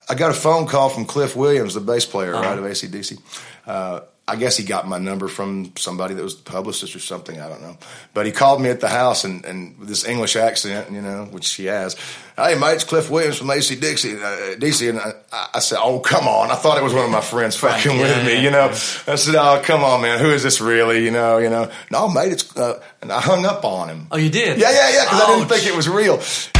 I got a phone call from Cliff Williams, the bass player, right, of AC/DC. I guess he got my number from somebody that was the publicist or something. I don't know. But he called me at the house and with this English accent, you know, which he has. Hey, mate, it's Cliff Williams from AC/DC. And I said, oh, come on. I thought it was one of my friends fucking with me, you know. I said, oh, come on, man. Who is this really, you know. No, mate, it's... and I hung up on him. Oh, you did? Yeah, because I didn't think it was real.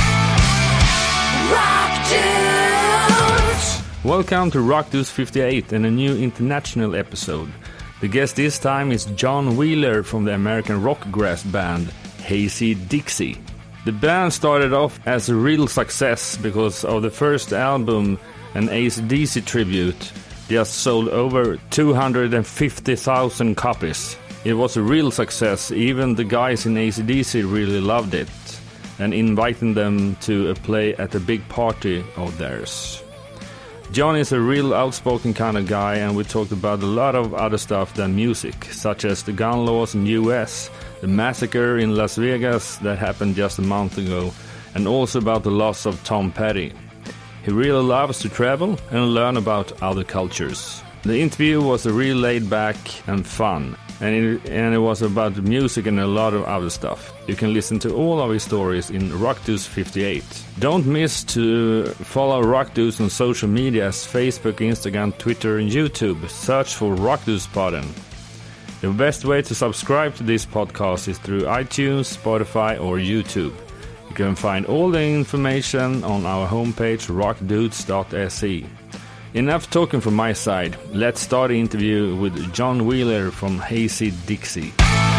Rock Dudes! Welcome to Rock Dudes 58 and a new international episode. The guest this time is John Wheeler from the American rockgrass band AC/DC. The band started off as a real success because of the first album, an AC/DC tribute, just sold over 250,000 copies. It was a real success. Even the guys in AC/DC really loved it and invited them to play at a big party of theirs. John is a real outspoken kind of guy, and we talked about a lot of other stuff than music, such as the gun laws in US, the massacre in Las Vegas that happened just a month ago, and also about the loss of Tom Petty. He really loves to travel and learn about other cultures. The interview was really laid back and fun, and it was about music and a lot of other stuff. You can listen to all of his stories in Rock Dudes 58. Don't miss to follow Rock Dudes on social media as Facebook, Instagram, Twitter and YouTube. Search for Rock Dudes Podden. The best way to subscribe to this podcast is through iTunes, Spotify or YouTube. You can find all the information on our homepage rockdudes.se. Enough talking from my side. Let's start the interview with John Wheeler from AC/DC.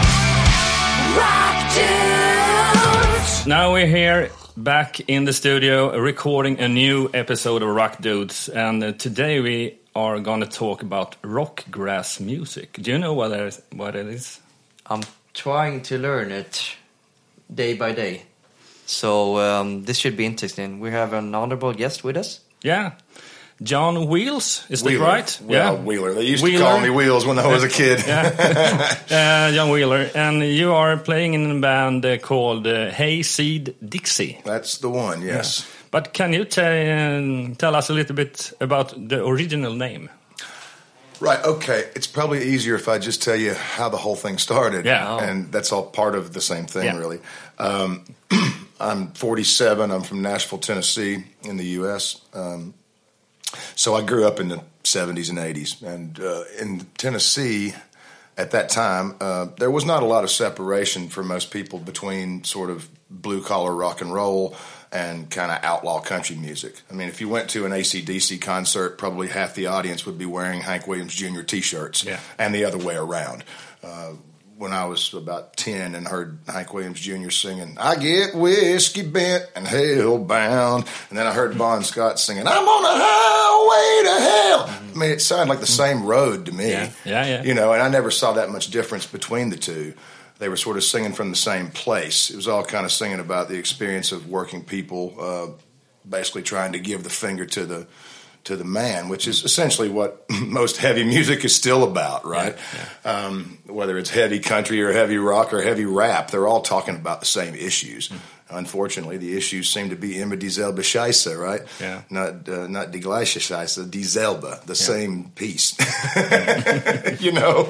Rock Dudes! Now we're here back in the studio recording a new episode of Rock Dudes, and today we are going to talk about rockgrass music. Do you know what it is? I'm trying to learn it day by day. So this should be interesting. We have an honorable guest with us. Yeah. John Wheels, is that right? Yeah, Wheeler. They used to call me Wheels when I was a kid. John Wheeler. And you are playing in a band called AC/DC. That's the one, yes. Yeah. But can you tell us a little bit about the original name? Right, okay. It's probably easier if I just tell you how the whole thing started. Yeah. And that's all part of the same thing, really. I'm 47. I'm from Nashville, Tennessee in the U.S., so I grew up in the 70s and 80s, and in Tennessee at that time, there was not a lot of separation for most people between sort of blue-collar rock and roll and kind of outlaw country music. I mean, if you went to an AC/DC concert, probably half the audience would be wearing Hank Williams Jr. T-shirts, and the other way around. When I was about 10 and heard Hank Williams Jr. singing, I get whiskey bent and hell bound. And then I heard Bon Scott singing, I'm on a highway to hell. I mean, it sounded like the same road to me. Yeah. You know, and I never saw that much difference between the two. They were sort of singing from the same place. It was all kind of singing about the experience of working people, basically trying to give the finger to the man, which is essentially what most heavy music is still about, right? Yeah. Whether it's heavy country or heavy rock or heavy rap, they're all talking about the same issues. Unfortunately, the issues seem to be immer dieselbe Scheiße, right? Yeah. Not die gleiche Scheiße, dieselbe, the same piece. You know?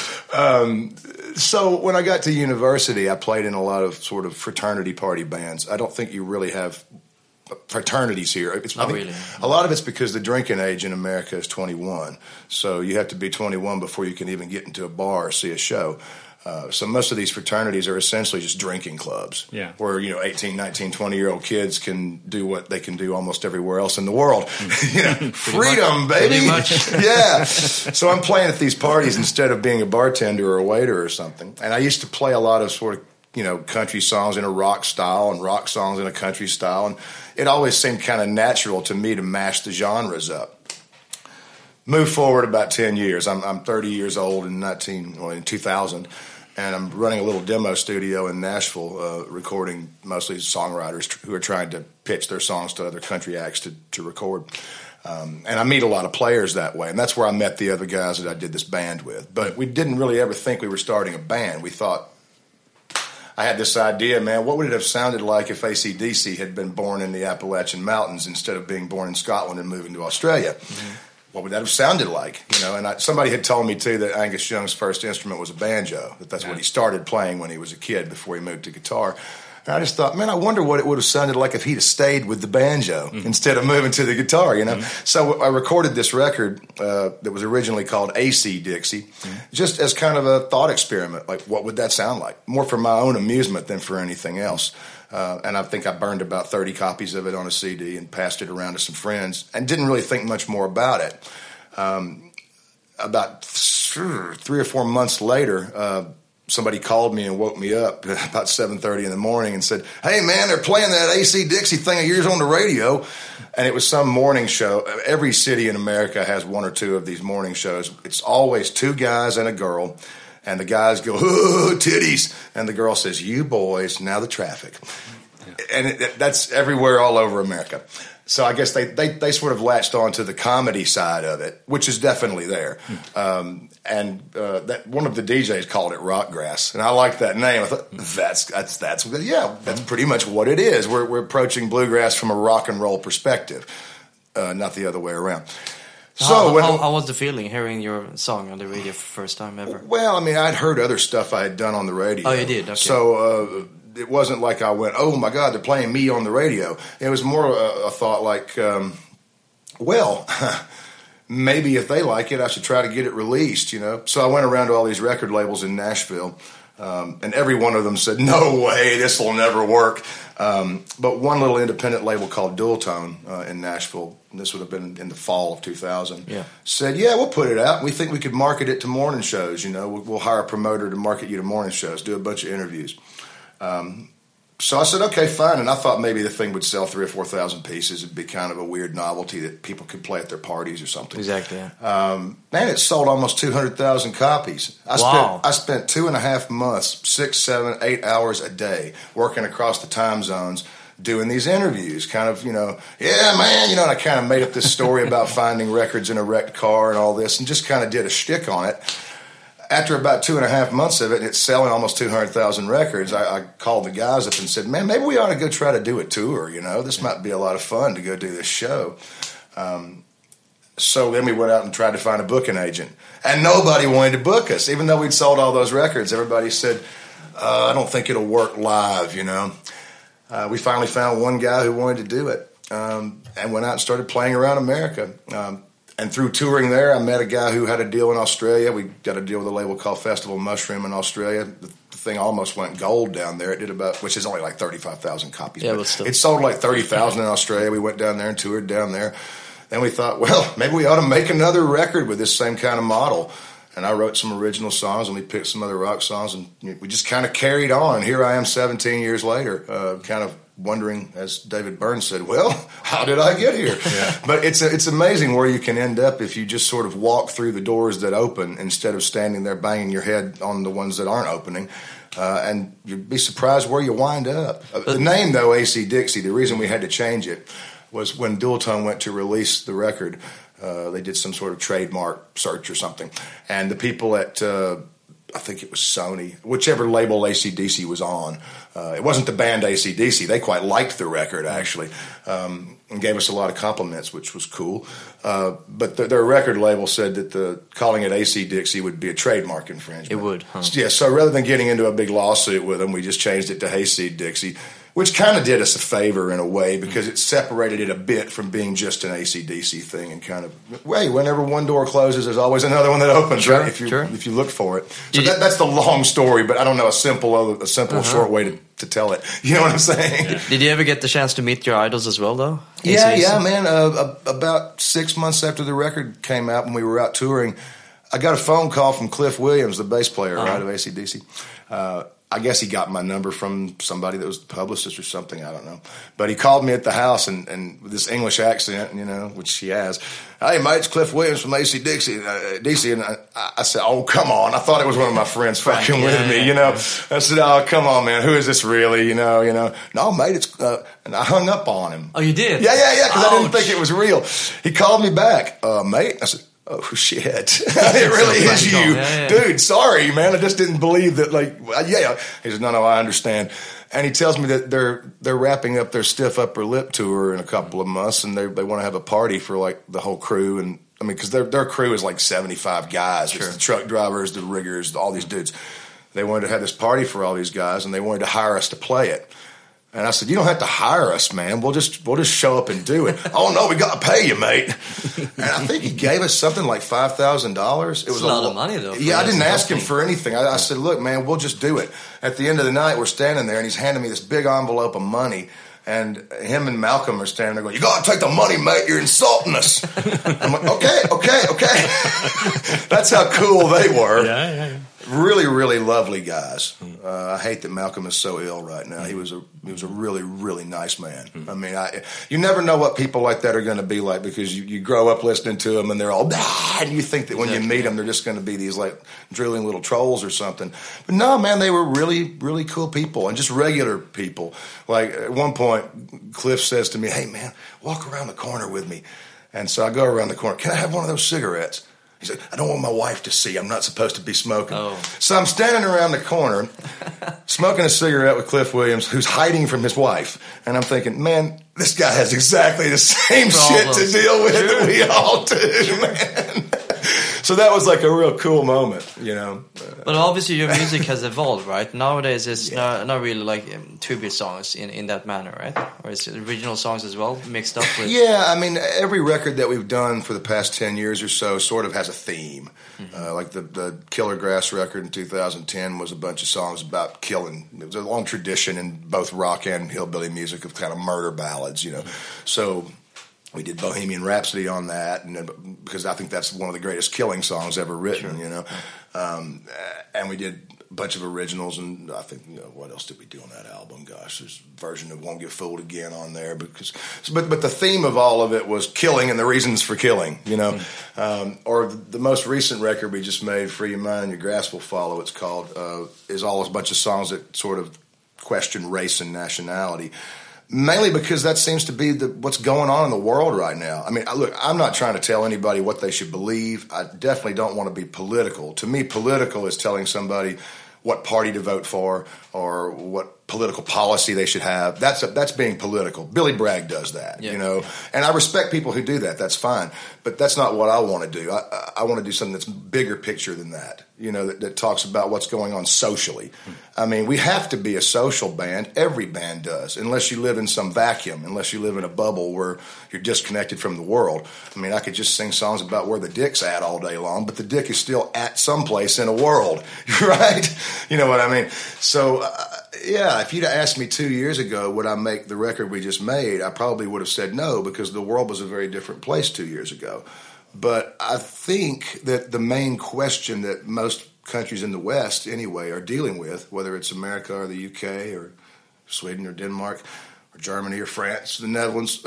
So when I got to university, I played in a lot of sort of fraternity party bands. I don't think you really have fraternities here. Really. A lot of it's because the drinking age in America is 21. So you have to be 21 before you can even get into a bar or see a show. So most of these fraternities are essentially just drinking clubs where, 18, 19, 20-year-old kids can do what they can do almost everywhere else in the world. Freedom, baby. Pretty much. Yeah. So I'm playing at these parties instead of being a bartender or a waiter or something. And I used to play a lot of sort of, country songs in a rock style and rock songs in a country style. And it always seemed kind of natural to me to mash the genres up. Move forward about 10 years. I'm 30 years old in 2000, and I'm running a little demo studio in Nashville, recording mostly songwriters who are trying to pitch their songs to other country acts to record. And I meet a lot of players that way, and that's where I met the other guys that I did this band with. But we didn't really ever think we were starting a band. We thought, I had this idea, man, what would it have sounded like if AC/DC had been born in the Appalachian Mountains instead of being born in Scotland and moving to Australia? Mm-hmm. What would that have sounded like? And somebody had told me, too, that Angus Young's first instrument was a banjo, that's what he started playing when he was a kid before he moved to guitar. And I just thought, man, I wonder what it would have sounded like if he'd have stayed with the banjo instead of moving to the guitar, So I recorded this record that was originally called AC Dixie, just as kind of a thought experiment. Like, what would that sound like? More for my own amusement than for anything else. And I think I burned about 30 copies of it on a CD and passed it around to some friends and didn't really think much more about it. About 3 or 4 months later, somebody called me and woke me up about 7:30 in the morning and said, "Hey, man, they're playing that AC Dixie thing of yours on the radio." And it was some morning show. Every city in America has one or two of these morning shows. It's always two guys and a girl. And the guys go, "Ooh, titties." And the girl says, "You boys, now the traffic." Yeah. And that's everywhere all over America. So I guess they sort of latched on to the comedy side of it, which is definitely there. That one of the DJs called it Rockgrass, and I liked that name. I thought that's pretty much what it is. We're approaching bluegrass from a rock and roll perspective, not the other way around. So how was the feeling hearing your song on the radio for the first time ever? Well, I mean, I'd heard other stuff I had done on the radio. Oh, you did? Okay. So it wasn't like I went, "Oh, my God, they're playing me on the radio." It was more a thought like, maybe if they like it, I should try to get it released, So I went around to all these record labels in Nashville, and every one of them said, "No way, this will never work." But one little independent label called Dual Tone in Nashville, and this would have been in the fall of 2000, said, "Yeah, we'll put it out. We think we could market it to morning shows. We'll hire a promoter to market you to morning shows, do a bunch of interviews." So I said, "Okay, fine." And I thought maybe the thing would sell 3,000 or 4,000 pieces. It'd be kind of a weird novelty that people could play at their parties or something. Exactly. Yeah. Man, it sold almost 200,000 copies. I spent 2.5 months, 6, 7, 8 hours a day working across the time zones doing these interviews, kind of, "Yeah, man," and I kind of made up this story about finding records in a wrecked car and all this and just kind of did a shtick on it. After about 2.5 months of it, and it's selling almost 200,000 records, I called the guys up and said, "Man, maybe we ought to go try to do a tour, This might be a lot of fun to go do this show." So then we went out and tried to find a booking agent. And nobody wanted to book us. Even though we'd sold all those records, everybody said, "I don't think it'll work live, We finally found one guy who wanted to do it and went out and started playing around America. And through touring there, I met a guy who had a deal in Australia. We got a deal with a label called Festival Mushroom in Australia. The thing almost went gold down there. It did which is only like 35,000 copies. Yeah, but it sold like 30,000 in Australia. We went down there and toured down there. Then we thought, well, maybe we ought to make another record with this same kind of model. And I wrote some original songs, and we picked some other rock songs, and we just kind of carried on. Here I am 17 years later, kind of wondering, as David Byrne said, well, how did I get here? Yeah. But it's amazing where you can end up if you just sort of walk through the doors that open instead of standing there banging your head on the ones that aren't opening. And you'd be surprised where you wind up. The name, though, AC Dixie, the reason we had to change it was when Dual Tone went to release the record, they did some sort of trademark search or something. And the people at I think it was Sony, whichever label AC/DC was on. It wasn't the band AC/DC. They quite liked the record, actually, and gave us a lot of compliments, which was cool. But their record label said that calling it AC Dixie would be a trademark infringement. It would, huh? Yeah, so rather than getting into a big lawsuit with them, we just changed it to AC Dixie, which kind of did us a favor in a way because it separated it a bit from being just an AC/DC thing and kind of, whenever one door closes, there's always another one that opens, sure, right? If you look for it. So that's the long story, but I don't know a simple short way to tell it. You know what I'm saying? Yeah. Did you ever get the chance to meet your idols as well, though? Yeah, man. About 6 months after the record came out, when we were out touring, I got a phone call from Cliff Williams, the bass player, right, of AC/DC. I guess he got my number from somebody that was the publicist or something. I don't know. But he called me at the house and with this English accent, which he has. "Hey, mate, it's Cliff Williams from AC Dixie. And I said, "Oh, come on." I thought it was one of my friends fucking with me, I said, "Oh, come on, man. Who is this really? No, mate, it's, and I hung up on him. Oh, you did? Yeah, because I didn't think it was real. He called me back. "Mate," I said, oh shit, it really is you, dude. Sorry, man. I just didn't believe that. Like, yeah. He said, no, I understand. And he tells me that they're wrapping up their Stiff Upper Lip tour in a couple of months, and they want to have a party for like the whole crew. And I mean, because their crew is like 75 guys. Sure. It's the truck drivers, the riggers, all these dudes. They wanted to have this party for all these guys, and they wanted to hire us to play it. And I said, you don't have to hire us, man. We'll just show up and do it. Oh, no, we got to pay you, mate. And I think he gave us something like $5,000. It was a lot of money, though. Yeah, I didn't ask him for anything. I said, look, man, we'll just do it. At the end of the night, we're standing there, and he's handing me this big envelope of money. And him and Malcolm are standing there going, you got to take the money, mate. You're insulting us. I'm like, okay. That's how cool they were. Yeah. Really, really lovely guys. I hate that Malcolm is so ill right now. He was a really, really nice man. I mean, you never know what people like that are going to be like, because you grow up listening to them and they're all, and you think that when you meet them, they're just going to be these like drilling little trolls or something. But no, man, they were really, really cool people and just regular people. Like at one point, Cliff says to me, hey man, walk around the corner with me. And so I go around the corner. Can I have one of those cigarettes? He said, I don't want my wife to see. I'm not supposed to be smoking. Oh. So I'm standing around the corner smoking a cigarette with Cliff Williams, who's hiding from his wife. And I'm thinking, man, this guy has exactly the same shit to deal with that we all do, man. So that was like a real cool moment, you know. But obviously your music has evolved, right? Nowadays it's not really like tribute songs in that manner, right? Or is it original songs as well, mixed up with... Yeah, I mean, every record that we've done for the past 10 years or so sort of has a theme. Mm-hmm. Like the Killer Grass record in 2010 was a bunch of songs about killing. It was a long tradition in both rock and hillbilly music of kind of murder ballads, you know. Mm-hmm. So... we did Bohemian Rhapsody on that, and because I think that's one of the greatest killing songs ever written, you know. And we did a bunch of originals, and I think, you know, what else did we do on that album? Gosh, there's a version of Won't Get Fooled Again on there, but the theme of all of it was killing and the reasons for killing, you know. Or the most recent record we just made, Free Your Mind and Your Grass Will Follow, it's called, is all a bunch of songs that sort of question race and nationality. Mainly because that seems to be what's going on in the world right now. I mean, look, I'm not trying to tell anybody what they should believe. I definitely don't want to be political. To me, political is telling somebody what party to vote for or what political policy they should have. That's being political. Billy Bragg does that, you know. And I respect people who do that. That's fine. But that's not what I want to do. I want to do something that's bigger picture than that, you know, that talks about what's going on socially. I mean, we have to be a social band. Every band does, unless you live in some vacuum, unless you live in a bubble where you're disconnected from the world. I mean, I could just sing songs about where the dick's at all day long, but the dick is still at someplace in a world, right? You know what I mean? So, yeah, if you'd asked me 2 years ago, would I make the record we just made, I probably would have said no, because the world was a very different place 2 years ago. But I think that the main question that most countries in the West, anyway, are dealing with, whether it's America or the UK or Sweden or Denmark or Germany or France, the Netherlands,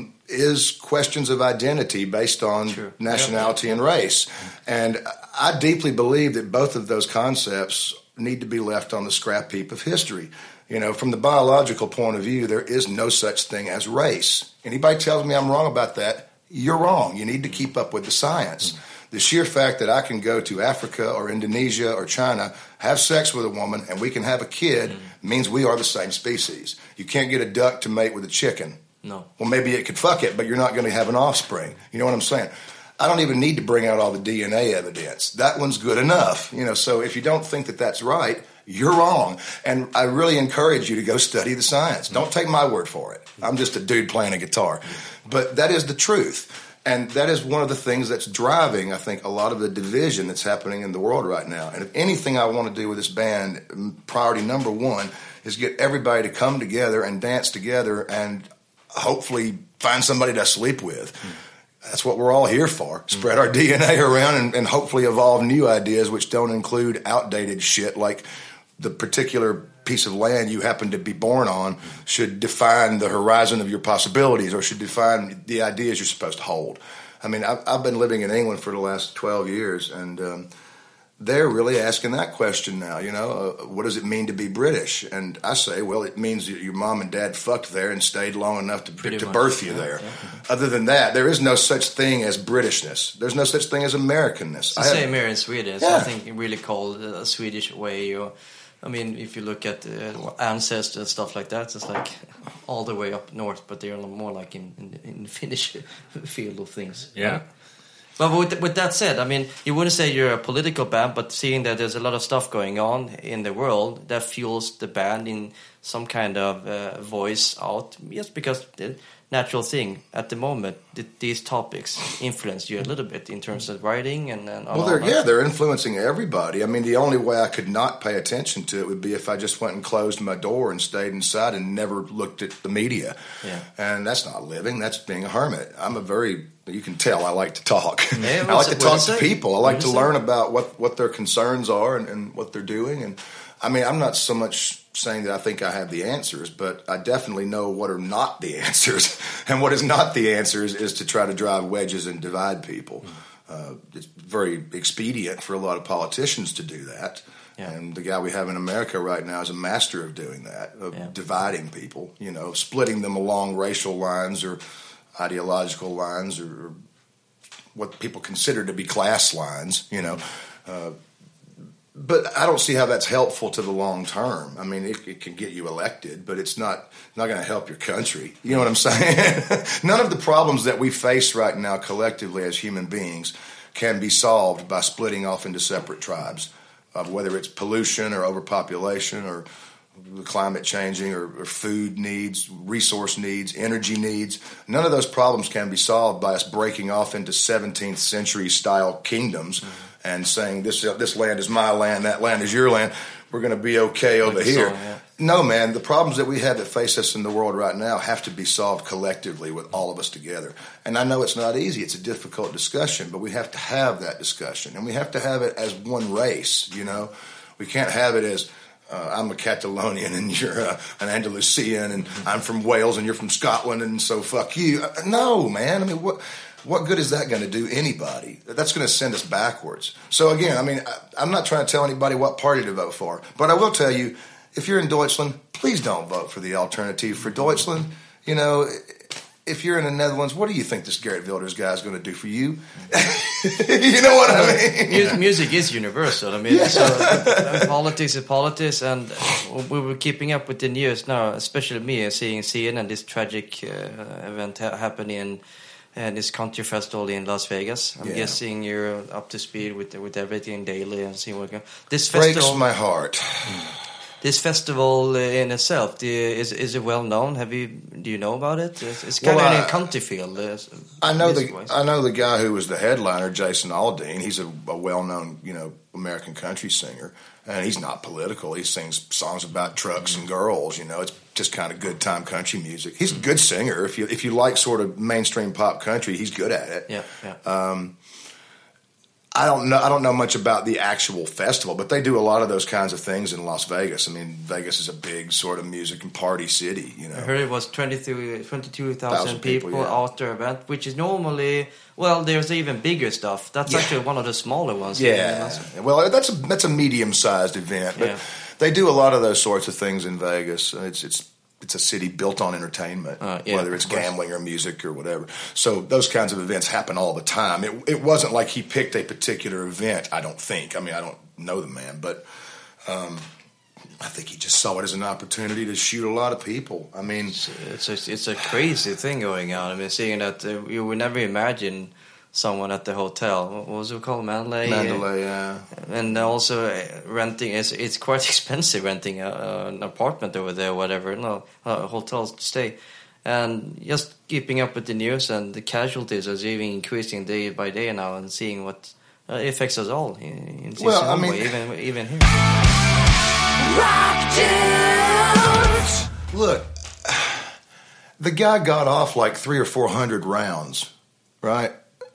is questions of identity based on nationality and race. And I deeply believe that both of those concepts need to be left on the scrap heap of history. You know, from the biological point of view, there is no such thing as race. Anybody tells me I'm wrong about that, you're wrong. You need to keep up with the science. The sheer fact that I can go to Africa or Indonesia or China, have sex with a woman, and we can have a kid means we are the same species. You can't get a duck to mate with a chicken. No. Well, maybe it could fuck it, but you're not going to have an offspring. You know what I'm saying? I don't even need to bring out all the DNA evidence. That one's good enough. You know, so if you don't think that that's right, you're wrong. And I really encourage you to go study the science. Don't take my word for it. I'm just a dude playing a guitar. But that is the truth. And that is one of the things that's driving, I think, a lot of the division that's happening in the world right now. And if anything I want to do with this band, priority number one is get everybody to come together and dance together and hopefully find somebody to sleep with. That's what we're all here for. Spread our DNA around and hopefully evolve new ideas which don't include outdated shit like the particular piece of land you happen to be born on should define the horizon of your possibilities or should define the ideas you're supposed to hold. I mean, I've been living in England for the last 12 years, and they're really asking that question now. What does it mean to be British? And I say, well, it means that your mom and dad fucked there and stayed long enough to birth you there. Yeah. Other than that, there is no such thing as Britishness. There's no such thing as Americanness. It's the same here in Sweden. It's something really called a Swedish way. If you look at ancestors and stuff like that, it's like all the way up north, but they're more like in the Finnish field of things. Yeah. But with that said, you wouldn't say you're a political band, but seeing that there's a lot of stuff going on in the world that fuels the band in some kind of voice out, just because the natural thing at the moment, these topics influence you a little bit in terms of writing and all that. They're influencing everybody. The only way I could not pay attention to it would be if I just went and closed my door and stayed inside and never looked at the media. Yeah. And that's not living, that's being a hermit. You can tell I like to talk. Yeah, I like to talk to people. I like to learn about what their concerns are and what they're doing. And I'm not so much saying that I think I have the answers, but I definitely know what are not the answers. And what is not the answers is to try to drive wedges and divide people. It's very expedient for a lot of politicians to do that. Yeah. And the guy we have in America right now is a master of doing that, of dividing people, splitting them along racial lines or ideological lines or what people consider to be class lines, but I don't see how that's helpful to the long term. It can get you elected, but it's not going to help your country. You know what I'm saying? None of the problems that we face right now collectively as human beings can be solved by splitting off into separate tribes, whether it's pollution or overpopulation or climate changing or food needs, resource needs, energy needs. None of those problems can be solved by us breaking off into 17th century style kingdoms and saying this land is my land, that land is your land. We're going to be okay over here. No, man, the problems that we have that face us in the world right now have to be solved collectively with all of us together. And I know it's not easy. It's a difficult discussion, but we have to have that discussion. And we have to have it as one race, We can't have it as I'm a Catalonian and you're an Andalusian and I'm from Wales and you're from Scotland and so fuck you. No, man. What good is that going to do anybody? That's going to send us backwards. So again, I'm not trying to tell anybody what party to vote for, but I will tell you, if you're in Deutschland, please don't vote for the Alternative for Deutschland. If you're in the Netherlands, what do you think this Geert Wilders guy is going to do for you? You know what I mean? Music is universal. Politics is politics, and we were keeping up with the news now, especially me, seeing CNN, this tragic event happening in this country festival in Las Vegas. I'm guessing you're up to speed with everything daily and seeing what this festival breaks my heart. This festival in itself, is it well known? Do you know about it? It's kind of in a country field. I know the guy who was the headliner, Jason Aldean. He's a well-known, American country singer, and he's not political. He sings songs about trucks and girls. It's just kind of good time country music. He's a good singer. If you like sort of mainstream pop country, he's good at it. Yeah. I don't know much about the actual festival, but they do a lot of those kinds of things in Las Vegas. Vegas is a big sort of music and party city, I heard it was 22,000 people out there event, which is normally, there's even bigger stuff. That's actually one of the smaller ones. Yeah. Well, that's a medium-sized event, but they do a lot of those sorts of things in Vegas. It's a city built on entertainment, whether it's gambling or music or whatever. So those kinds of events happen all the time. It wasn't like he picked a particular event, I don't think. I don't know the man, but I think he just saw it as an opportunity to shoot a lot of people. It's a crazy thing going on. Seeing that you would never imagine someone at the hotel. What was it called? Mandalay, yeah. And also renting it's quite expensive renting an apartment over there, whatever. No, hotels to stay, and just keeping up with the news and the casualties is even increasing day by day now, and seeing what affects us all in some way, even here. Look, the guy got off like 300 or 400 rounds, right?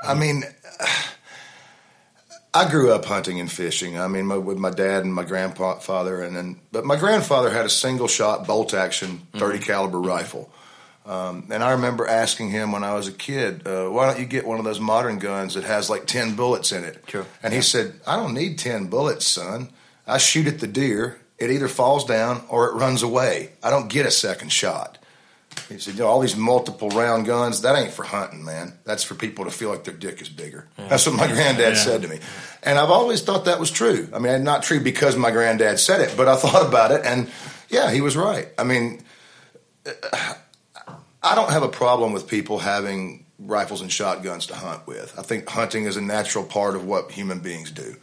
I grew up hunting and fishing. With my dad and my grandfather, but my grandfather had a single shot bolt action 30 caliber rifle. And I remember asking him when I was a kid, why don't you get one of those modern guns that has like 10 bullets in it? Sure. And he said, I don't need 10 bullets, son. I shoot at the deer. It either falls down or it runs away. I don't get a second shot. He said, all these multiple round guns, that ain't for hunting, man. That's for people to feel like their dick is bigger. Yeah. That's what my granddad said to me. And I've always thought that was true. I mean, not true because my granddad said it, but I thought about it, and yeah, he was right. I mean, I don't have a problem with people having rifles and shotguns to hunt with. I think hunting is a natural part of what human beings do.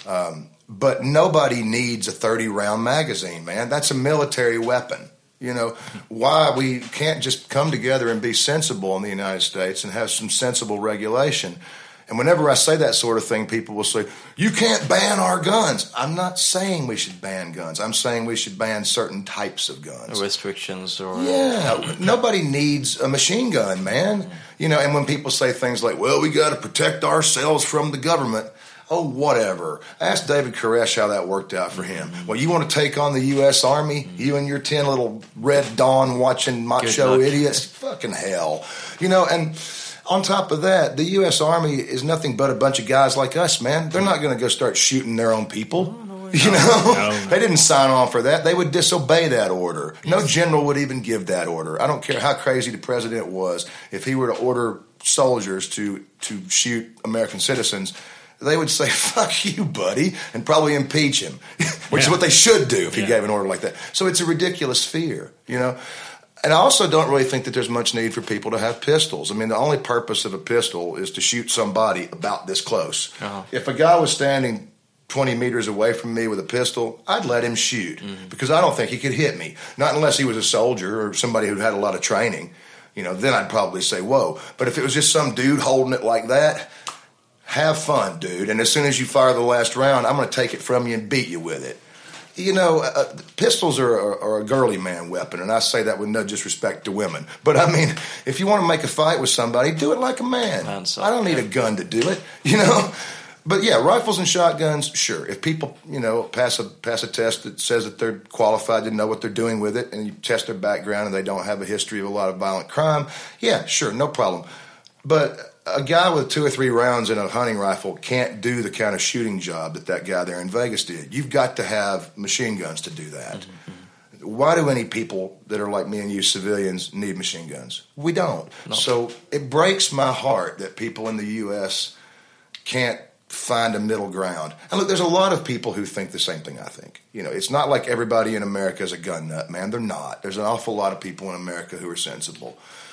But nobody needs a 30-round magazine, man. That's a military weapon. You know, why we can't just come together and be sensible in the United States and have some sensible regulation. And whenever I say that sort of thing, people will say, you can't ban our guns. I'm not saying we should ban guns. I'm saying we should ban certain types of guns. Restrictions or... Yeah, nobody needs a machine gun, man. You know, and when people say things like, well, we got to protect ourselves from the government. Oh, whatever. Ask David Koresh how that worked out for him. Well, you want to take on the U.S. Army? You and your 10 little Red Dawn watching macho idiots? Fucking hell. You know, and on top of that, the U.S. Army is nothing but a bunch of guys like us, man. They're not going to go start shooting their own people. You know? They didn't sign on for that. They would disobey that order. No general would even give that order. I don't care how crazy the president was. If he were to order soldiers to shoot American citizens, they would say, fuck you, buddy, and probably impeach him, which is what they should do if he gave an order like that. So it's a ridiculous fear, you know. And I also don't really think that there's much need for people to have pistols. I mean, the only purpose of a pistol is to shoot somebody about this close. Uh-huh. If a guy was standing 20 meters away from me with a pistol, I'd let him shoot because I don't think he could hit me. Not unless he was a soldier or somebody who'd had a lot of training. You know, then I'd probably say, whoa. But if it was just some dude holding it like that, have fun, dude. And as soon as you fire the last round, I'm going to take it from you and beat you with it. You know, pistols are a girly man weapon, and I say that with no disrespect to women. But, I mean, if you want to make a fight with somebody, do it like a man. I don't need a gun to do it, you know. But, yeah, rifles and shotguns, sure. If people, you know, pass a test that says that they're qualified to know what they're doing with it, and you test their background and they don't have a history of a lot of violent crime, yeah, sure, no problem. But a guy with 2 or 3 rounds in a hunting rifle can't do the kind of shooting job that guy there in Vegas did. You've got to have machine guns to do that. Mm-hmm. Why do any people that are like me and you, civilians, need machine guns? We don't. No. So it breaks my heart that people in the U.S. can't find a middle ground. And look, there's a lot of people who think the same thing I think. You know, it's not like everybody in America is a gun nut, man. They're not. There's an awful lot of people in America who are sensible.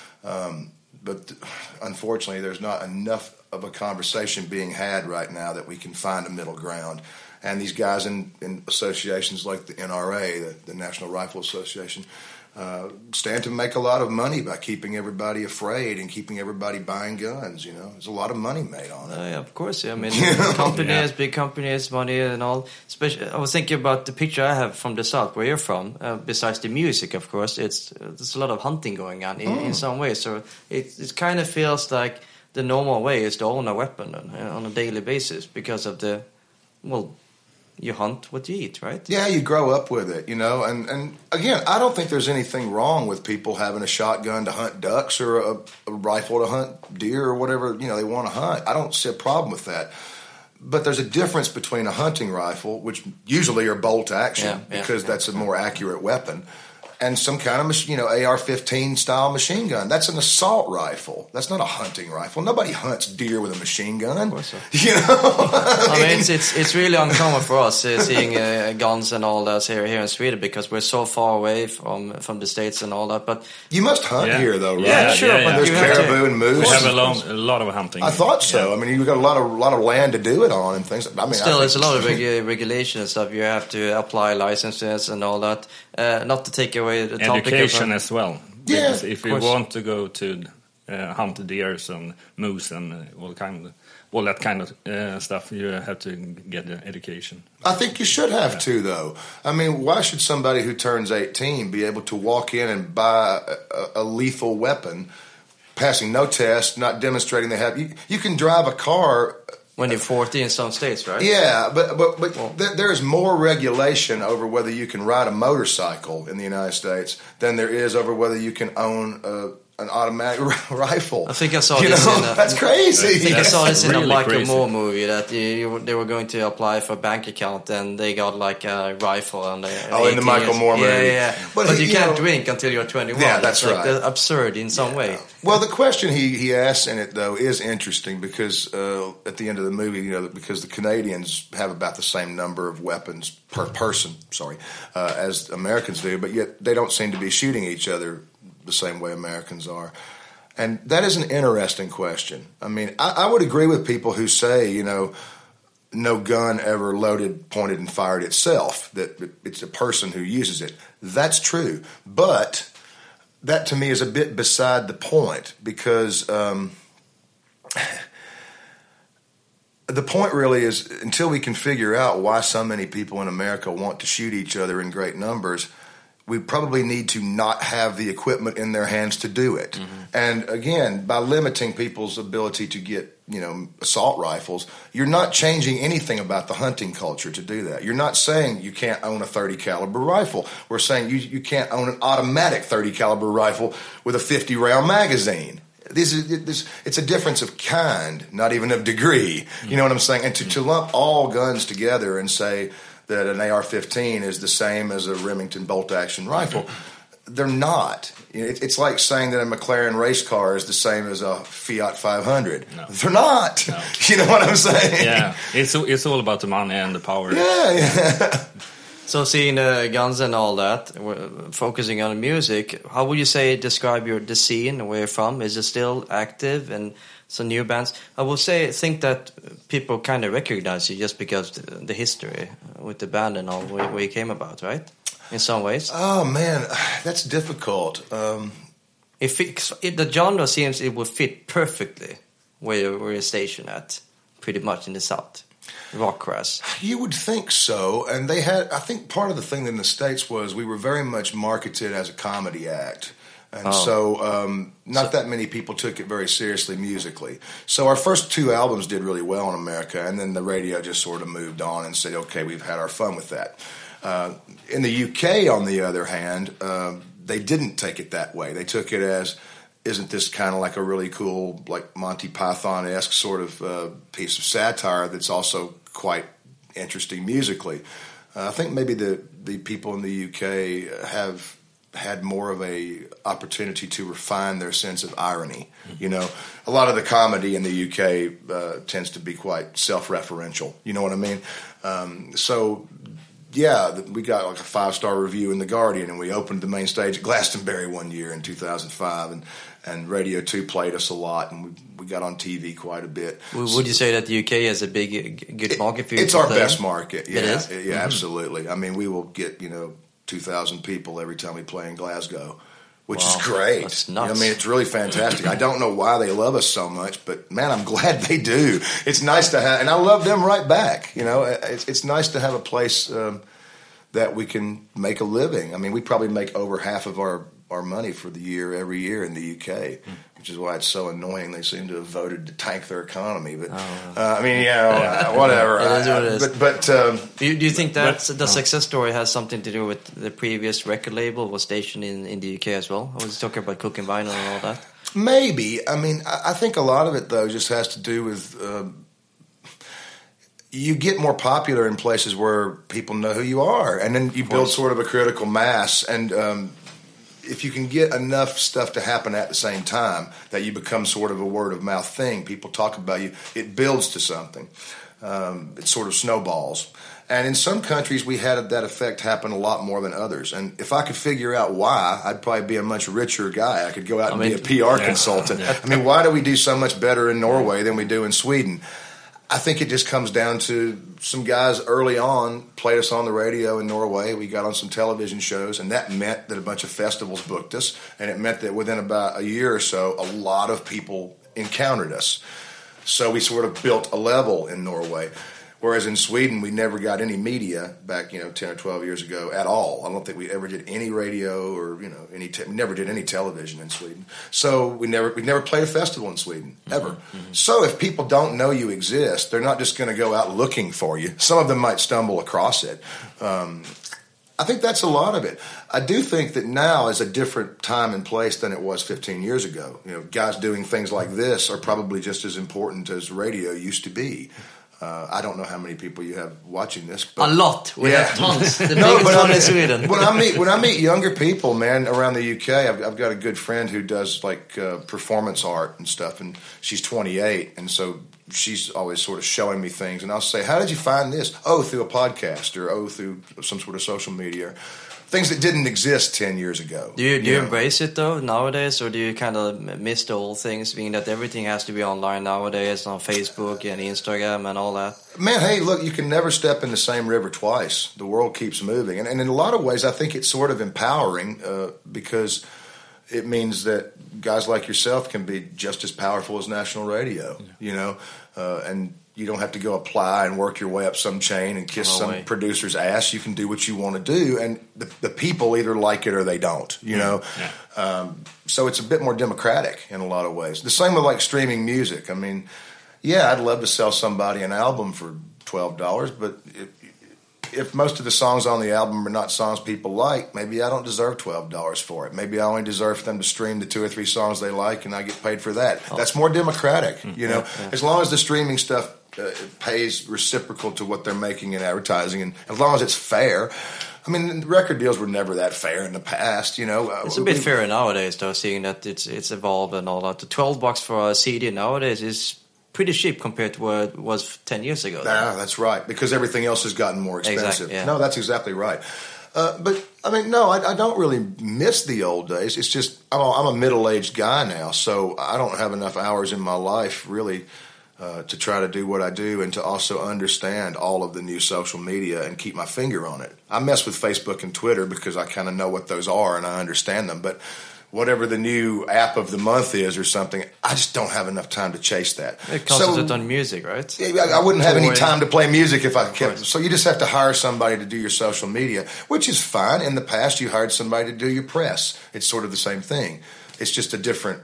But unfortunately, there's not enough of a conversation being had right now that we can find a middle ground. And these guys in associations like the NRA, the National Rifle Association, stand to make a lot of money by keeping everybody afraid and keeping everybody buying guns. You know, there's a lot of money made on it. Yeah, of course. Yeah. I mean, companies, big companies, money and all. Especially, I was thinking about the picture I have from the South, where you're from. Besides the music, of course, there's a lot of hunting going on in some ways. So it kind of feels like the normal way is to own a weapon on a daily basis because of the, well, you hunt what you eat, right? Yeah, you grow up with it, you know. And again, I don't think there's anything wrong with people having a shotgun to hunt ducks or a rifle to hunt deer or whatever, you know, they want to hunt. I don't see a problem with that. But there's a difference between a hunting rifle, which usually are bolt action because that's a more accurate weapon, and some kind of, you know, AR-15 style machine gun. That's an assault rifle. That's not a hunting rifle. Nobody hunts deer with a machine gun. Of course so. You know? I mean, it's really uncommon for us seeing guns and all that here in Sweden because we're so far away from the States and all that. But you must hunt here, though, right? Yeah, sure. But there's caribou and moose. We have a lot of hunting. I thought so. I mean, you've got a lot of land to do it on and things. I mean, still, it's a lot of regulation and stuff. You have to apply licenses and all that. Not to take away the topic education as well. Yeah, because if you want to go to hunt deers and moose and all that kind of stuff, you have to get the education. I think you should have to, though. I mean, why should somebody who turns 18 be able to walk in and buy a lethal weapon, passing no test, not demonstrating they have? You can drive a car When you're 40 in some states, right? Yeah, but there is more regulation over whether you can ride a motorcycle in the United States than there is over whether you can own an automatic rifle. I think I saw this that's crazy. I think I saw this in really a Michael crazy. Moore movie that they were going to apply for a bank account and they got like a rifle and in the Michael Moore movie. Yeah. But you can't drink until you're 21. Yeah, that's it's like right. Absurd in some way. Well, the question he asks in it though is interesting because at the end of the movie, because the Canadians have about the same number of weapons per person, as Americans do, but yet they don't seem to be shooting each other the same way Americans are. And that is an interesting question. I mean, I would agree with people who say, no gun ever loaded, pointed, and fired itself, that it's a person who uses it. That's true. But that to me is a bit beside the point because the point really is until we can figure out why so many people in America want to shoot each other in great numbers, we probably need to not have the equipment in their hands to do it. Mm-hmm. And again, by limiting people's ability to get, assault rifles, you're not changing anything about the hunting culture to do that. You're not saying you can't own a 30 caliber rifle. We're saying you can't own an automatic 30 caliber rifle with a 50 round magazine. It's a difference of kind, not even of degree. Mm-hmm. You know what I'm saying? And to lump all guns together and say that an AR-15 is the same as a Remington bolt-action rifle. They're not. It's like saying that a McLaren race car is the same as a Fiat 500. No. They're not. No. You know what I'm saying? Yeah, it's all about the money and the power. Yeah. So seeing guns and all that, focusing on music, how would you describe the scene, where you're from? Is it still active and some new bands? I will think that people kind of recognize you just because the history with the band and all where you came about, right? In some ways. Oh man, that's difficult. The genre seems it would fit perfectly where you're stationed at, pretty much in the South. Rockcrass. You would think so, and they had. I think part of the thing in the States was we were very much marketed as a comedy act. And not that many people took it very seriously musically. So our first two albums did really well in America, and then the radio just sort of moved on and said, okay, we've had our fun with that. In the UK, on the other hand, they didn't take it that way. They took it as, isn't this kind of like a really cool, like Monty Python-esque sort of piece of satire that's also quite interesting musically? I think maybe the people in the UK have had more of a opportunity to refine their sense of irony. A lot of the comedy in the UK tends to be quite self-referential. You know what I mean? We got like a 5-star review in The Guardian, and we opened the main stage at Glastonbury one year in 2005, and Radio 2 played us a lot, and we got on TV quite a bit. Would you say that the UK has a good market for you? It's our best market. Yeah, it is? Yeah, mm-hmm. Absolutely. I mean, we will get, 2,000 people every time we play in Glasgow, which is great. That's nuts. It's really fantastic. I don't know why they love us so much, but man, I'm glad they do. It's nice to have, and I love them right back. It's nice to have a place that we can make a living. I mean, we probably make over half of our money for the year every year in the UK, which is why it's so annoying. They seem to have voted to tank their economy, but whatever. It is what it is. But do you think that the success story has something to do with the previous record label was stationed in the UK as well? I was talking about Cook and Vinyl and all that. Maybe. I mean, I think a lot of it though just has to do with. You get more popular in places where people know who you are, and then you build sort of a critical mass. And if you can get enough stuff to happen at the same time, that you become sort of a word of mouth thing, people talk about you, it builds to something. It sort of snowballs. And in some countries, we had that effect happen a lot more than others. And if I could figure out why, I'd probably be a much richer guy. I could go out and be a PR consultant. I mean, why do we do so much better in Norway than we do in Sweden? I think it just comes down to some guys early on played us on the radio in Norway. We got on some television shows, and that meant that a bunch of festivals booked us, and it meant that within about a year or so, a lot of people encountered us. So we sort of built a level in Norway. Whereas in Sweden, we never got any media back, 10 or 12 years ago at all. I don't think we ever did any radio or, we never did any television in Sweden. So we never played a festival in Sweden, ever. Mm-hmm. So if people don't know you exist, they're not just going to go out looking for you. Some of them might stumble across it. I think that's a lot of it. I do think that now is a different time and place than it was 15 years ago. Guys doing things like this are probably just as important as radio used to be. I don't know how many people you have watching this. But a lot. We have tons. The biggest one in Sweden. When I meet younger people, man, around the UK, I've got a good friend who does like performance art and stuff, and she's 28, and so she's always sort of showing me things, and I'll say, "How did you find this?" "Oh, through a podcast," or through some sort of social media. Things that didn't exist 10 years ago. Do you embrace it, though, nowadays? Or do you kind of miss the old things, being that everything has to be online nowadays, on Facebook and Instagram and all that? Man, hey, look, you can never step in the same river twice. The world keeps moving. And in a lot of ways, I think it's sort of empowering because it means that guys like yourself can be just as powerful as national radio, and you don't have to go apply and work your way up some chain and kiss some producer's ass. You can do what you want to do, and the people either like it or they don't, know. Yeah. So it's a bit more democratic in a lot of ways. The same with like streaming music. I mean, yeah, I'd love to sell somebody an album for $12, but if most of the songs on the album are not songs people like, maybe I don't deserve $12 for it. Maybe I only deserve for them to stream the 2 or 3 songs they like, and I get paid for that. Oh. That's more democratic, Yeah. As long as the streaming stuff pays reciprocal to what they're making in advertising, and as long as it's fair. I mean, record deals were never that fair in the past, It's a bit fairer nowadays, though, seeing that it's evolved and all that. The $12 for a CD nowadays is pretty cheap compared to what it was 10 years ago. Yeah, that's right, because everything else has gotten more expensive. Exactly, yeah. No, that's exactly right. But, I mean, no, I don't really miss the old days. It's just I'm a middle-aged guy now, so I don't have enough hours in my life, really, to try to do what I do and to also understand all of the new social media and keep my finger on it. I mess with Facebook and Twitter because I kind of know what those are and I understand them, but whatever the new app of the month is or something, I just don't have enough time to chase that. It concentrates on music, right? I wouldn't have any time to play music if I kept. So you just have to hire somebody to do your social media, which is fine. In the past, you hired somebody to do your press. It's sort of the same thing. It's just a different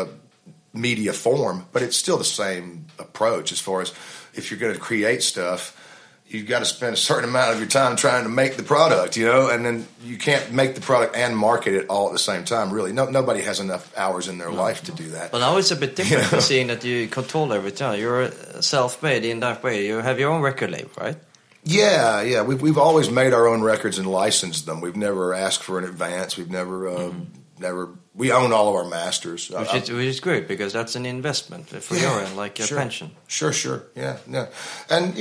media form, but it's still the same approach as far as if you're going to create stuff. You've got to spend a certain amount of your time trying to make the product, and then you can't make the product and market it all at the same time, really. Nobody has enough hours in their life to do that. Well, now it's a bit different seeing that you control everything. You're self-made in that way. You have your own record label, right? Yeah. We've always made our own records and licensed them. We've never asked for an advance. We've never we own all of our masters. Which is great, because that's an investment for your end, like a pension. Sure. Yeah. And,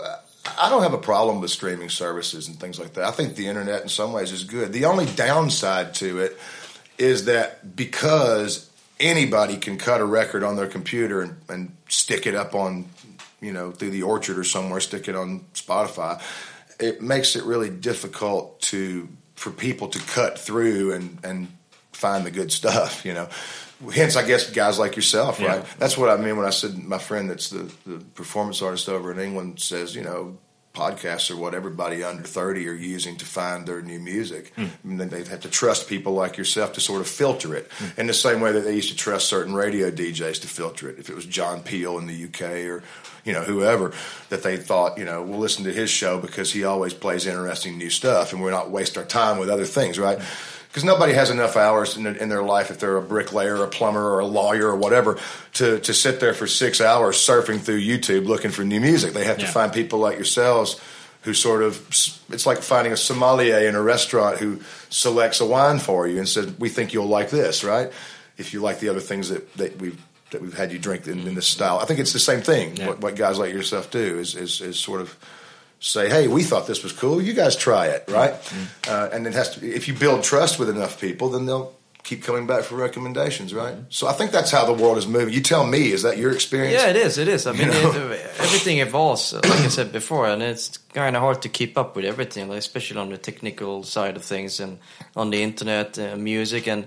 I don't have a problem with streaming services and things like that. I think the internet in some ways is good. The only downside to it is that because anybody can cut a record on their computer and stick it up on, through the Orchard or somewhere, stick it on Spotify, it makes it really difficult for people to cut through and find the good stuff, Hence, I guess, guys like yourself, right? Yeah. That's what I mean when I said my friend that's the performance artist over in England says, podcasts are what everybody under 30 are using to find their new music. I mean, they have to trust people like yourself to sort of filter it in the same way that they used to trust certain radio DJs to filter it. If it was John Peel in the UK or, whoever, that they thought, we'll listen to his show because he always plays interesting new stuff and we're not waste our time with other things, right? Because nobody has enough hours in their life, if they're a bricklayer or a plumber or a lawyer or whatever, to sit there for 6 hours surfing through YouTube looking for new music. They have to find people like yourselves who sort of, it's like finding a sommelier in a restaurant who selects a wine for you and says, we think you'll like this, right? If you like the other things that we've had you drink in this style. I think it's the same thing. Yeah. What guys like yourself do is sort of say, hey, we thought this was cool. You guys try it, right? And it has to. If you build trust with enough people, then they'll keep coming back for recommendations, right? So I think that's how the world is moving. You tell me, is that your experience? Yeah, it is. It is. I mean, everything evolves, like I said before, and it's kind of hard to keep up with everything, like, especially on the technical side of things and on the internet, music, and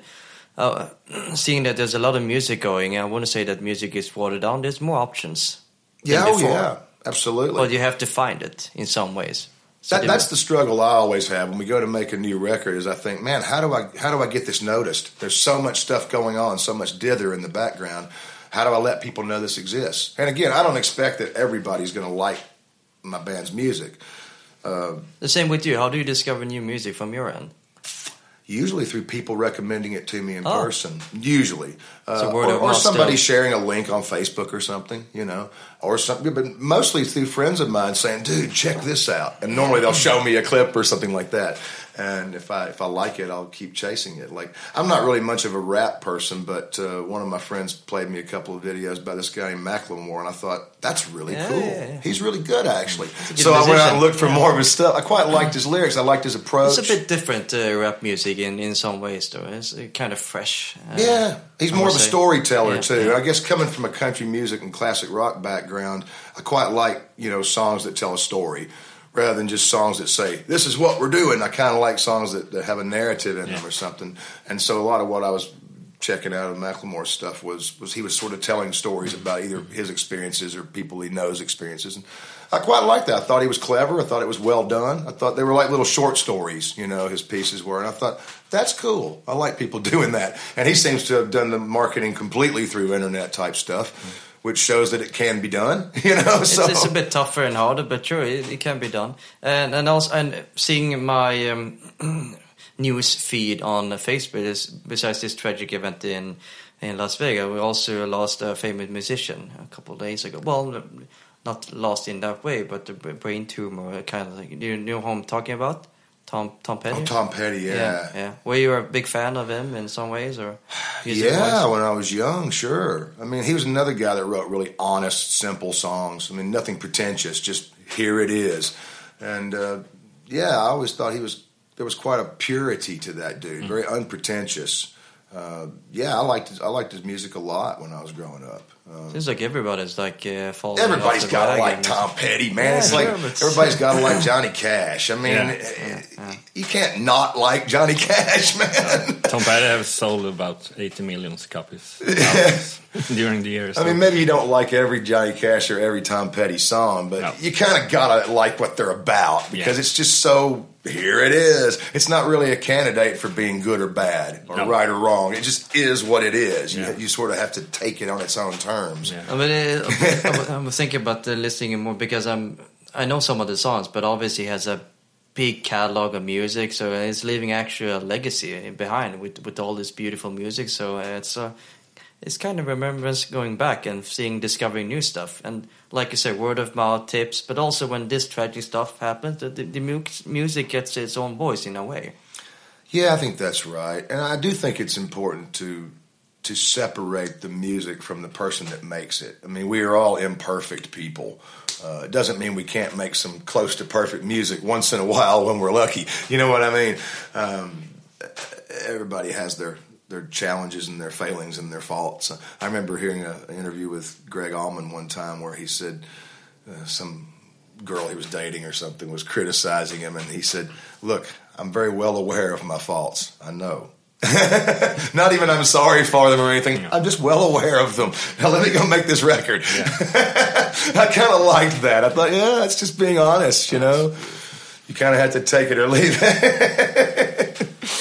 seeing that there's a lot of music going. I want to say that music is watered down. There's more options. Yeah, absolutely. Well, you have to find it in some ways. So That's the struggle I always have when we go to make a new record. Is I think, man, how do I get this noticed? There's so much stuff going on, so much dither in the background. How do I let people know this exists? And again, I don't expect that everybody's going to like my band's music. The same with you. How do you discover new music from your end? Usually through people recommending it to me in person. Usually, So word of or mouth somebody still. sharing a link on Facebook or something, or something. But mostly through friends of mine saying, "Dude, check this out." And normally they'll show me a clip or something like that. And if I like it, I'll keep chasing it. Like, I'm not really much of a rap person, but one of my friends played me a couple of videos by this guy named Macklemore, and I thought, that's really cool. Yeah. He's really good, actually. good So I went out musician. and looked for more of his stuff. I quite liked his lyrics. I liked his approach. It's a bit different rap music in some ways, though. It's kind of fresh. Yeah, he's I more of would a say. storyteller Yeah, too. yeah. I guess coming from a country music and classic rock background, I quite like songs that tell a story rather than just songs that say this is what we're doing. I kind of like songs that have a narrative in them or something. And so a lot of what I was checking out of Macklemore's stuff was he was sort of telling stories about either his experiences or people he knows experiences. And I quite liked that. I thought he was clever. I thought it was well done. I thought they were like little short stories, his pieces were. And I thought, that's cool. I like people doing that. And he seems to have done the marketing completely through internet type stuff, which shows that it can be done, So It's a bit tougher and harder, but sure, it can be done. And also, seeing my news feed on Facebook is, besides this tragic event in Las Vegas, we also lost a famous musician a couple of days ago. Well, not lost in that way, but a brain tumor, kind of like. Do you know who I'm talking about? Tom Petty? Oh, Tom Petty, yeah. Were you a big fan of him in some ways, or? Yeah, when I was young, sure. I mean, he was another guy that wrote really honest, simple songs. I mean, nothing pretentious, just here it is. And, I always thought there was quite a purity to that dude, very unpretentious. I liked his music a lot when I was growing up. Seems like everybody's like following. Everybody's got to like Tom Petty, man. It's like everybody's got to like Johnny Cash. I mean, you can't not like Johnny Cash, man. Tom Petty has sold about 80 million copies during the years. I mean, maybe you don't like every Johnny Cash or every Tom Petty song, but you kind of got to like what they're about because it's just so, here it is. It's not really a candidate for being good or bad or right or wrong. It just is what it is. You sort of have to take it on its own terms. Yeah. I mean, I'm thinking about listening more because I know some of the songs, but obviously he has a big catalog of music, so it's leaving actually a legacy behind with all this beautiful music. So it's kind of remembrance going back and discovering new stuff. And like you say, word of mouth tips, but also when this tragic stuff happens, the music gets its own voice in a way. Yeah, I think that's right. And I do think it's important to separate the music from the person that makes it. I mean, we are all imperfect people. It doesn't mean we can't make some close to perfect music once in a while when we're lucky. You know what I mean? Everybody has their challenges and their failings and their faults. I remember hearing an interview with Greg Allman one time where he said some girl he was dating or something was criticizing him, and he said, "Look, I'm very well aware of my faults. I know." Not even I'm sorry for them or anything. I'm just well aware of them. Now let me go make this record. I kind of liked that. I thought, that's just being honest, You kind of have to take it or leave it.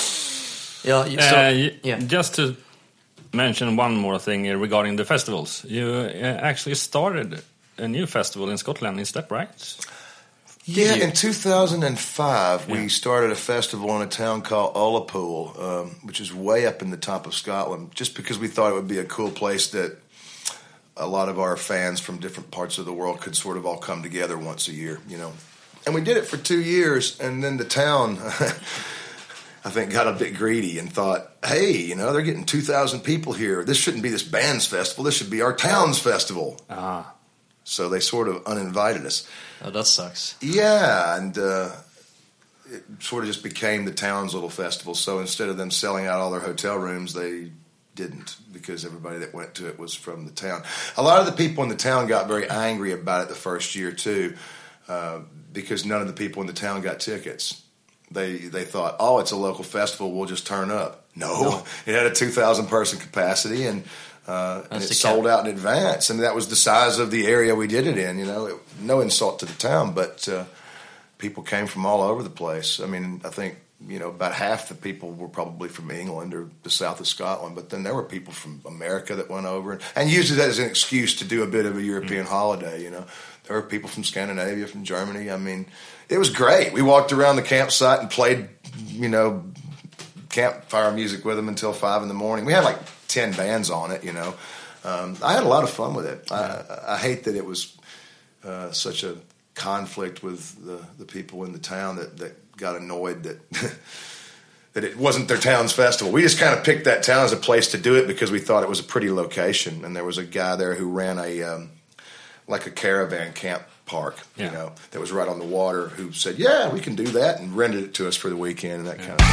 Just to mention one more thing regarding the festivals. You actually started a new festival in Scotland, is that right? Yeah, in 2005, we started a festival in a town called Ullapool, which is way up in the top of Scotland, just because we thought it would be a cool place that a lot of our fans from different parts of the world could sort of all come together once a year, And we did it for 2 years, and then the town, I think, got a bit greedy and thought, hey, they're getting 2,000 people here. This shouldn't be this band's festival. This should be our town's festival. So they sort of uninvited us. Oh, that sucks. Yeah, and it sort of just became the town's little festival. So instead of them selling out all their hotel rooms, they didn't, because everybody that went to it was from the town. A lot of the people in the town got very angry about it the first year, too, because none of the people in the town got tickets. They thought, it's a local festival, we'll just turn up. No. It had a 2,000 person capacity, and and it sold out in advance. And that was the size of the area we did it in. You know, no insult to the town, but people came from all over the place. I mean, I think, you know, about half the people were probably from England or the south of Scotland, but then there were people from America that went over and used it as an excuse to do a bit of a European holiday, you know. There were people from Scandinavia, from Germany. I mean, it was great. We walked around the campsite and played, you know, campfire music with them until 5 in the morning. We had like 10 bands on it, you know. I had a lot of fun with it. I hate that it was such a conflict with the people in the town that got annoyed that that it wasn't their town's festival. We just kind of picked that town as a place to do it because we thought it was a pretty location, and there was a guy there who ran a like a caravan camp park, you know, that was right on the water, who said, "Yeah, we can do that," and rented it to us for the weekend and that kind of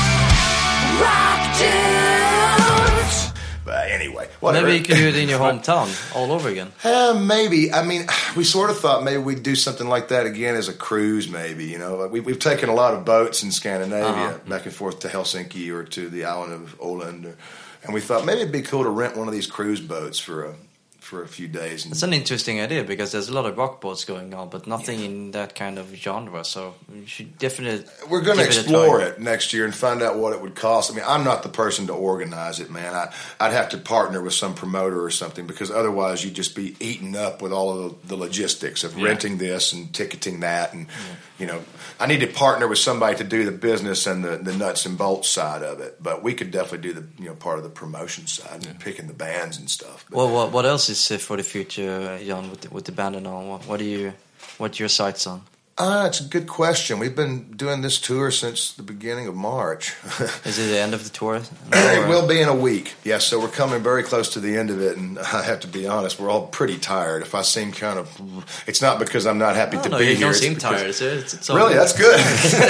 Rock Dudes. But anyway, whatever. Maybe you could do it in your hometown all over again. Maybe. I mean, we sort of thought maybe we'd do something like that again as a cruise, maybe. You know, we've taken a lot of boats in Scandinavia back and forth to Helsinki or to the island of Åland, and we thought maybe it'd be cool to rent one of these cruise boats for a few days. It's an interesting idea because there's a lot of rock boats going on, but nothing in that kind of genre. So you should definitely. We're going to explore it next year and find out what it would cost. I mean, I'm not the person to organize it, man. I'd have to partner with some promoter or something because otherwise you'd just be eaten up with all of the logistics of renting this and ticketing that, and you know, I need to partner with somebody to do the business and the nuts and bolts side of it. But we could definitely do the part of the promotion side and picking the bands and stuff. But, well, what else is for the future, Jan, with the band and all? What are your sights on? It's a good question. We've been doing this tour since the beginning of March. Is it the end of the tour? It will be in a week. Yes, so we're coming very close to the end of it, and I have to be honest, we're all pretty tired. If I seem kind of, it's not because I'm not happy to be here. You don't seem tired. It's really, that's good.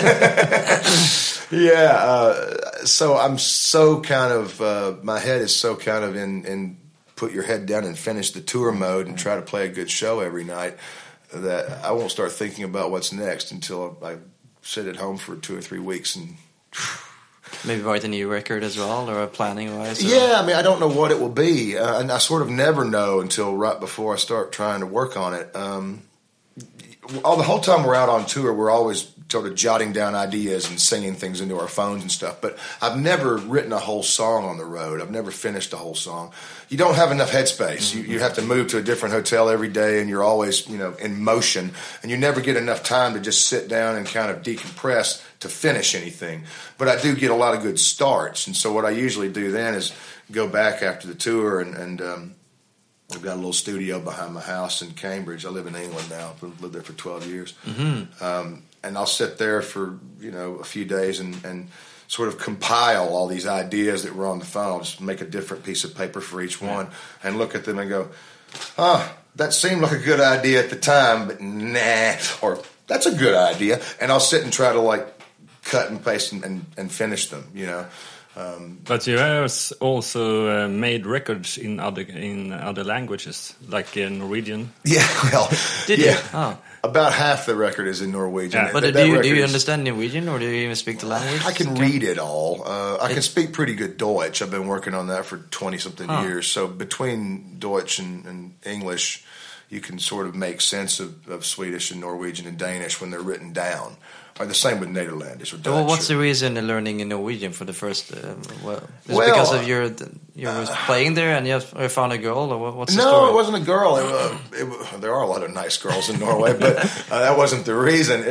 So I'm so kind of, my head is so kind of in put your head down and finish the tour mode and try to play a good show every night, that I won't start thinking about what's next until I sit at home for 2 or 3 weeks and maybe write a new record as well, or planning wise. Yeah, I mean, I don't know what it will be, and I sort of never know until right before I start trying to work on it. The whole time we're out on tour, we're always sort of jotting down ideas and singing things into our phones and stuff. But I've never written a whole song on the road. I've never finished a whole song. You don't have enough headspace. Mm-hmm. You have to move to a different hotel every day, and you're always, you know, in motion. And you never get enough time to just sit down and kind of decompress to finish anything. But I do get a lot of good starts. And so what I usually do then is go back after the tour and we've got a little studio behind my house in Cambridge. I live in England now. I've lived there for 12 years. Mm-hmm. And I'll sit there for, you know, a few days and sort of compile all these ideas that were on the phone. I'll just make a different piece of paper for each one and look at them and go, that seemed like a good idea at the time, but nah. Or that's a good idea. And I'll sit and try to, like, cut and paste and finish them, you know. But you have also made records in other languages, like Norwegian. Yeah, well, did you? Oh. About half the record is in Norwegian. Yeah. But do you understand Norwegian, or do you even speak the language? I can read it all. I can speak pretty good Deutsch. I've been working on that for 20-something years. So between Deutsch and English, you can sort of make sense of Swedish and Norwegian and Danish when they're written down. Or the same with Netherlandish or Dutch. Well, what's the reason in learning in Norwegian for the first? Because of you were playing there and you found a girl, or what's the story? No, it wasn't a girl. There are a lot of nice girls in Norway, but that wasn't the reason.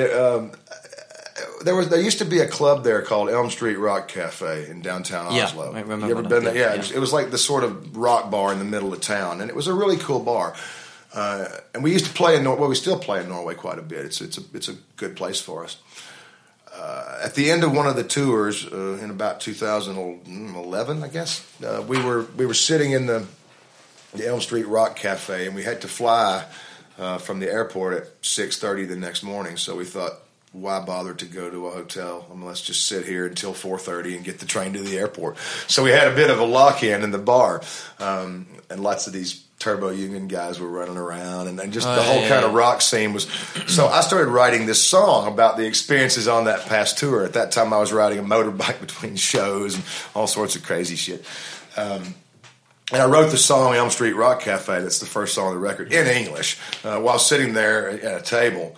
There used to be a club there called Elm Street Rock Cafe in downtown Oslo. I remember. You ever been there? Yeah. It was like the sort of rock bar in the middle of town, and it was a really cool bar. And we used to play in Norway. Well, we still play in Norway quite a bit. It's a good place for us. At the end of one of the tours in about 2011, I guess, we were sitting in the Elm Street Rock Cafe, and we had to fly from the airport at 6:30 the next morning. So we thought, why bother to go to a hotel? I mean, let's just sit here until 4:30 and get the train to the airport. So we had a bit of a lock-in in the bar, and lots of these Turbo Union guys were running around, and just the whole kind of rock scene was. So I started writing this song about the experiences on that past tour. At that time, I was riding a motorbike between shows and all sorts of crazy shit. And I wrote the song Elm Street Rock Cafe, that's the first song on the record, in English, while sitting there at a table,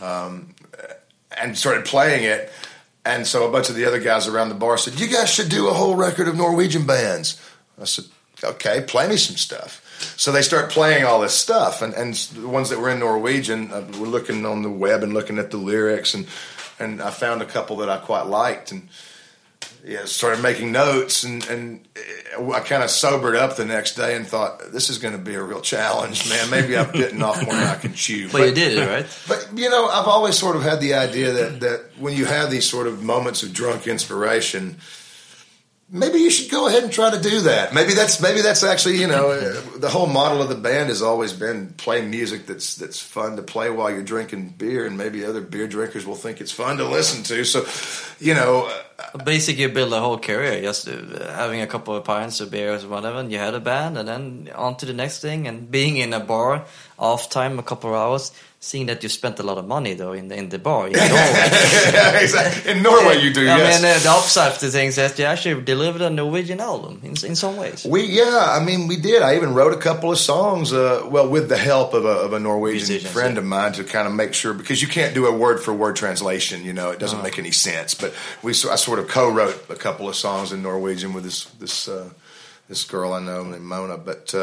and started playing it. And so a bunch of the other guys around the bar said, "You guys should do a whole record of Norwegian bands." I said, "Okay, play me some stuff." So they start playing all this stuff, and the ones that were in Norwegian, were looking on the web and looking at the lyrics, and I found a couple that I quite liked, and started making notes, and I kind of sobered up the next day and thought, this is going to be a real challenge, man. Maybe I'm bitten off more than I can chew. But you did it, right? But, I've always sort of had the idea that when you have these sort of moments of drunk inspiration, maybe you should go ahead and try to do that. Maybe that's actually, the whole model of the band has always been play music that's fun to play while you're drinking beer, and maybe other beer drinkers will think it's fun to listen to. So, basically, you build a whole career just having a couple of pints of beers or whatever, and you had a band, and then on to the next thing, and being in a bar off time a couple of hours. Seeing that you spent a lot of money though in the bar in Norway. Exactly. In Norway, you do. I yes. mean, the upside to things is you actually delivered a Norwegian album in some ways. We did. I even wrote a couple of songs. With the help of a Norwegian friend of mine to kind of make sure, because you can't do a word for word translation. It doesn't make any sense. But I sort of co-wrote a couple of songs in Norwegian with this girl I know named Mona. But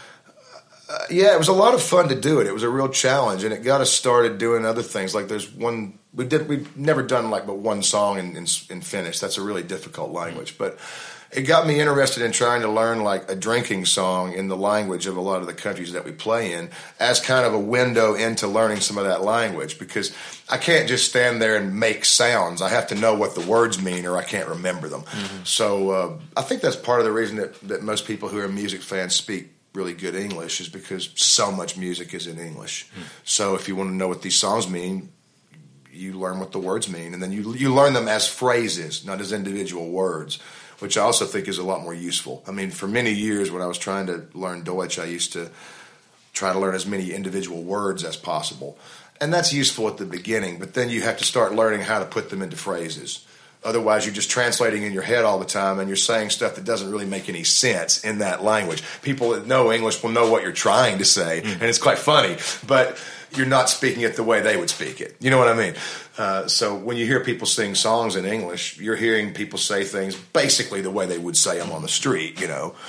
it was a lot of fun to do it. It was a real challenge, and it got us started doing other things. Like there's one we've never done but one song in Finnish. That's a really difficult language, but it got me interested in trying to learn like a drinking song in the language of a lot of the countries that we play in, as kind of a window into learning some of that language, because I can't just stand there and make sounds. I have to know what the words mean, or I can't remember them. Mm-hmm. So I think that's part of the reason that most people who are music fans speak really good English, is because so much music is in English. So if you want to know what these songs mean, you learn what the words mean, and then you learn them as phrases, not as individual words, which I also think is a lot more useful. I mean, for many years when I was trying to learn Deutsch, I used to try to learn as many individual words as possible, and that's useful at the beginning, but then you have to start learning how to put them into phrases. Otherwise, you're just translating in your head all the time, and you're saying stuff that doesn't really make any sense in that language. People that know English will know what you're trying to say, and it's quite funny, but you're not speaking it the way they would speak it. You know what I mean? So when you hear people sing songs in English, you're hearing people say things basically the way they would say them on the street,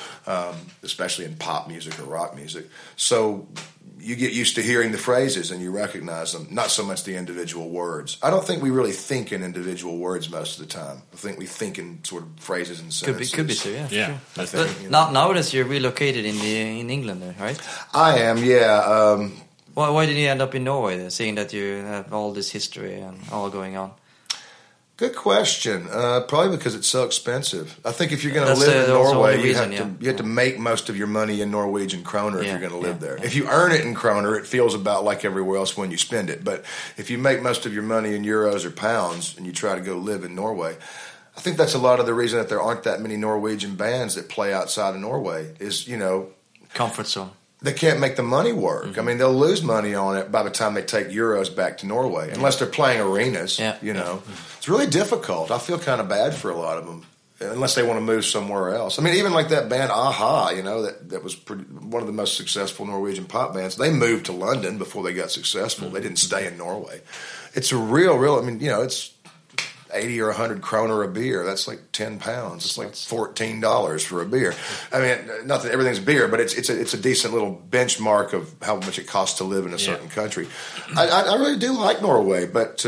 especially in pop music or rock music. So you get used to hearing the phrases and you recognize them, not so much the individual words. I don't think we really think in individual words most of the time. I think we think in sort of phrases and sentences. Could be so, yeah. Yeah. Sure. I think, nowadays you're relocated in England, right? I am, yeah. Why did you end up in Norway, then, seeing that you have all this history and all going on? Good question. Probably because it's so expensive. I think if you're going to live in Norway, you have to make most of your money in Norwegian kroner if you're going to live there. Yeah. If you earn it in kroner, it feels about like everywhere else when you spend it. But if you make most of your money in euros or pounds and you try to go live in Norway, I think that's a lot of the reason that there aren't that many Norwegian bands that play outside of Norway is, comfort zone. They can't make the money work. Mm-hmm. I mean, they'll lose money on it by the time they take euros back to Norway, unless they're playing arenas, It's really difficult. I feel kind of bad for a lot of them, unless they want to move somewhere else. I mean, even like that band A-ha, that was one of the most successful Norwegian pop bands. They moved to London before they got successful. Mm-hmm. They didn't stay in Norway. It's a real, it's 80 or 100 kroner a beer. That's like 10 pounds. It's like $14 for a beer. I mean, not that everything's beer, but it's a decent little benchmark of how much it costs to live in a certain country. I really do like Norway, but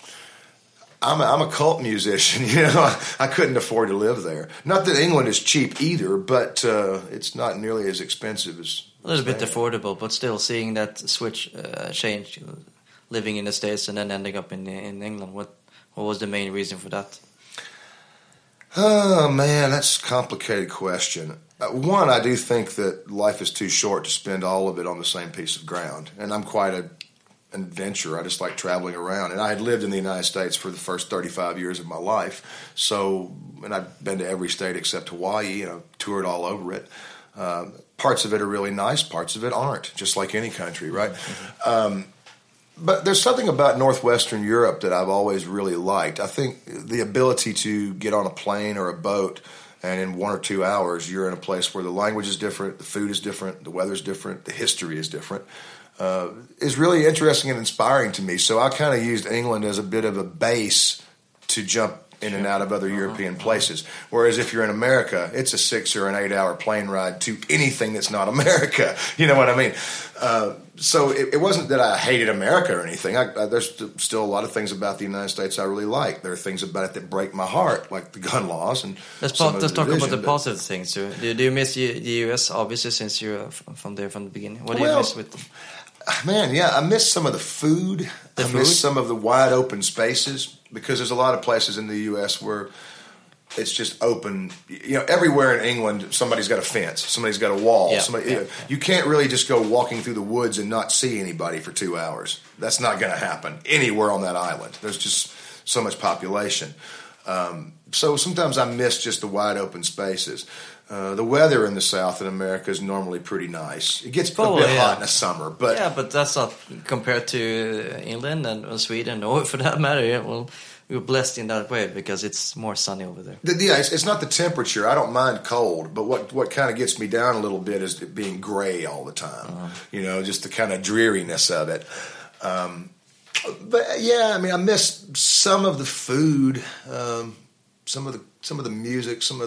I'm a cult musician. I couldn't afford to live there. Not that England is cheap either, but it's not nearly as expensive as a little bit affordable, but still seeing that switch change, living in the States and then ending up in England. What was the main reason for that? Oh, man, that's a complicated question. One, I do think that life is too short to spend all of it on the same piece of ground. And I'm quite an adventurer. I just like traveling around. And I had lived in the United States for the first 35 years of my life. And I've been to every state except Hawaii. Toured all over it. Parts of it are really nice. Parts of it aren't, just like any country, right? Mm-hmm. But there's something about Northwestern Europe that I've always really liked. I think the ability to get on a plane or a boat And in 1 or 2 hours, you're in a place where the language is different, the food is different, the weather's different, the history is different. Is really interesting and inspiring to me. So I kind of used England as a bit of a base to jump in and out of other European places. Whereas if you're in America, it's a 6 or an 8 hour plane ride to anything that's not America. You know what I mean? So it wasn't that I hated America or anything. There's still a lot of things about the United States I really like. There are things about it that break my heart, like the gun laws. And let's talk about the positive things. Do you miss the U.S., obviously, since you're from there from the beginning? What do you miss with them? Man, yeah, I miss some of the food. Miss some of the wide open spaces, because there's a lot of places in the U.S. where it's just open. You know, everywhere in England, somebody's got a fence, somebody's got a wall. You can't really just go walking through the woods and not see anybody for 2 hours. That's not going to happen anywhere on that island. There's just so much population. So sometimes I miss just the wide open spaces. The weather in the South in America is normally pretty nice. It gets a bit hot in the summer, but that's not compared to England and Sweden, or for that matter. Yeah, well, we're blessed in that way because it's more sunny over there. It's not the temperature. I don't mind cold, but what kind of gets me down a little bit is it being gray all the time. You know, just the kind of dreariness of it. But yeah, I mean, I miss some of the food, some of the music, some of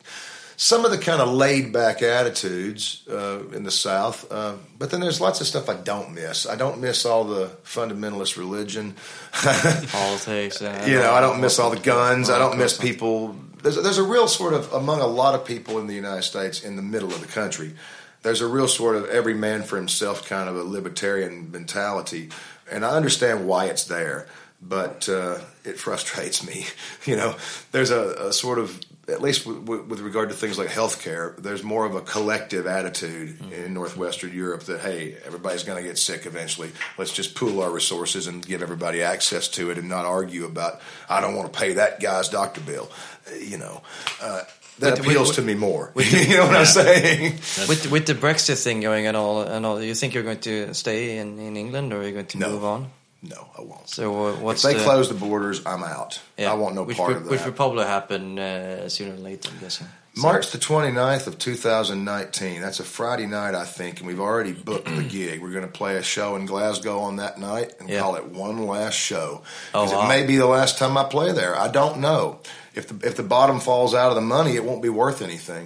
the kind of laid back attitudes in the South. But then there's lots of stuff I don't miss. I don't miss all the fundamentalist religion, politics. I don't miss all the guns. I don't miss people. There's a real sort of, among a lot of people in the United States, in the middle of the country, there's a real sort of every man for himself kind of a libertarian mentality. And I understand why it's there, but it frustrates me. You know, there's a sort of, at least with regard to things like healthcare, there's more of a collective attitude in Northwestern Europe that, hey, everybody's going to get sick eventually. Let's just pool our resources and give everybody access to it and not argue about, I don't want to pay that guy's doctor bill. You know, that appeals to me more. You know what I'm saying? With the Brexit thing going and all, do you think you're going to stay in England, or are you going to move on? No, I won't. So if they close the borders, I'm out. I want no part of that. Which will probably happen sooner or later, I'm guessing. March the 29th of 2019. That's a Friday night, I think, and we've already booked the gig. We're going to play a show in Glasgow on that night and call it One Last Show. Because it may be the last time I play there. I don't know. If the bottom falls out of the money, it won't be worth anything.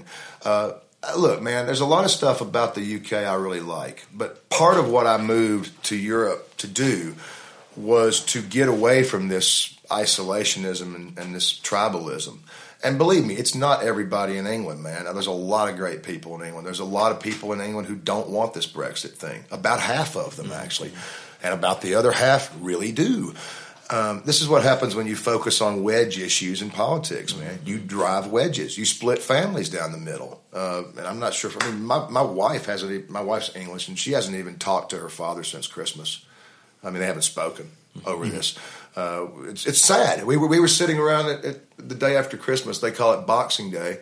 Look, man, there's a lot of stuff about the UK I really like. But part of what I moved to Europe to do was to get away from this isolationism and this tribalism. And believe me, it's not everybody in England, man. There's a lot of great people in England. There's a lot of people in England who don't want this Brexit thing. About half of them, actually. And about the other half really do. This is what happens when you focus on wedge issues in politics, man. You drive wedges. You split families down the middle. And I'm not sure. My wife's English, and she hasn't even talked to her father since Christmas. I mean, they haven't spoken over this. It's sad. We were sitting around at the day after Christmas. They call it Boxing Day.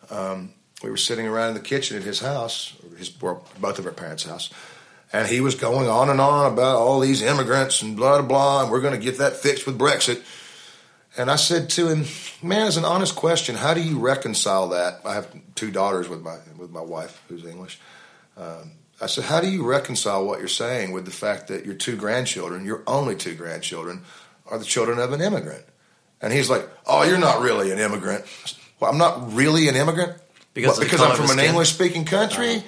We were sitting around in the kitchen at his house, both of our parents' house, and he was going on and on about all these immigrants and blah, blah, blah, and we're going to get that fixed with Brexit. And I said to him, man, as an honest question, how do you reconcile that? I have 2 daughters with my wife, who's English. I said, how do you reconcile what you're saying with the fact that your 2 grandchildren, your only 2 grandchildren, are the children of an immigrant? And he's like, oh, you're not really an immigrant. Well, I'm not really an immigrant? Because I'm from an English-speaking country?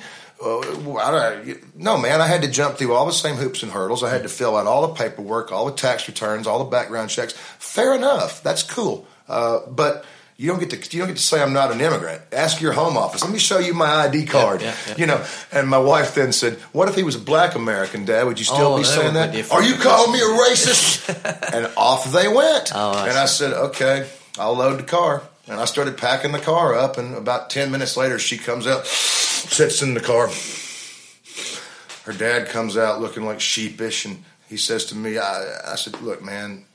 No, man, I had to jump through all the same hoops and hurdles. I had to fill out all the paperwork, all the tax returns, all the background checks. Fair enough. That's cool. But you don't get to say I'm not an immigrant. Ask your home office. Let me show you my ID card. Yeah. You know. And my wife then said, "What if he was a black American, Dad? Would you still be saying that? Are you calling me a racist?" And off they went. I said, "Okay, I'll load the car." And I started packing the car up. And about 10 minutes later, she comes out, sits in the car. Her dad comes out looking like sheepish, and he says to me, "I said, look, man."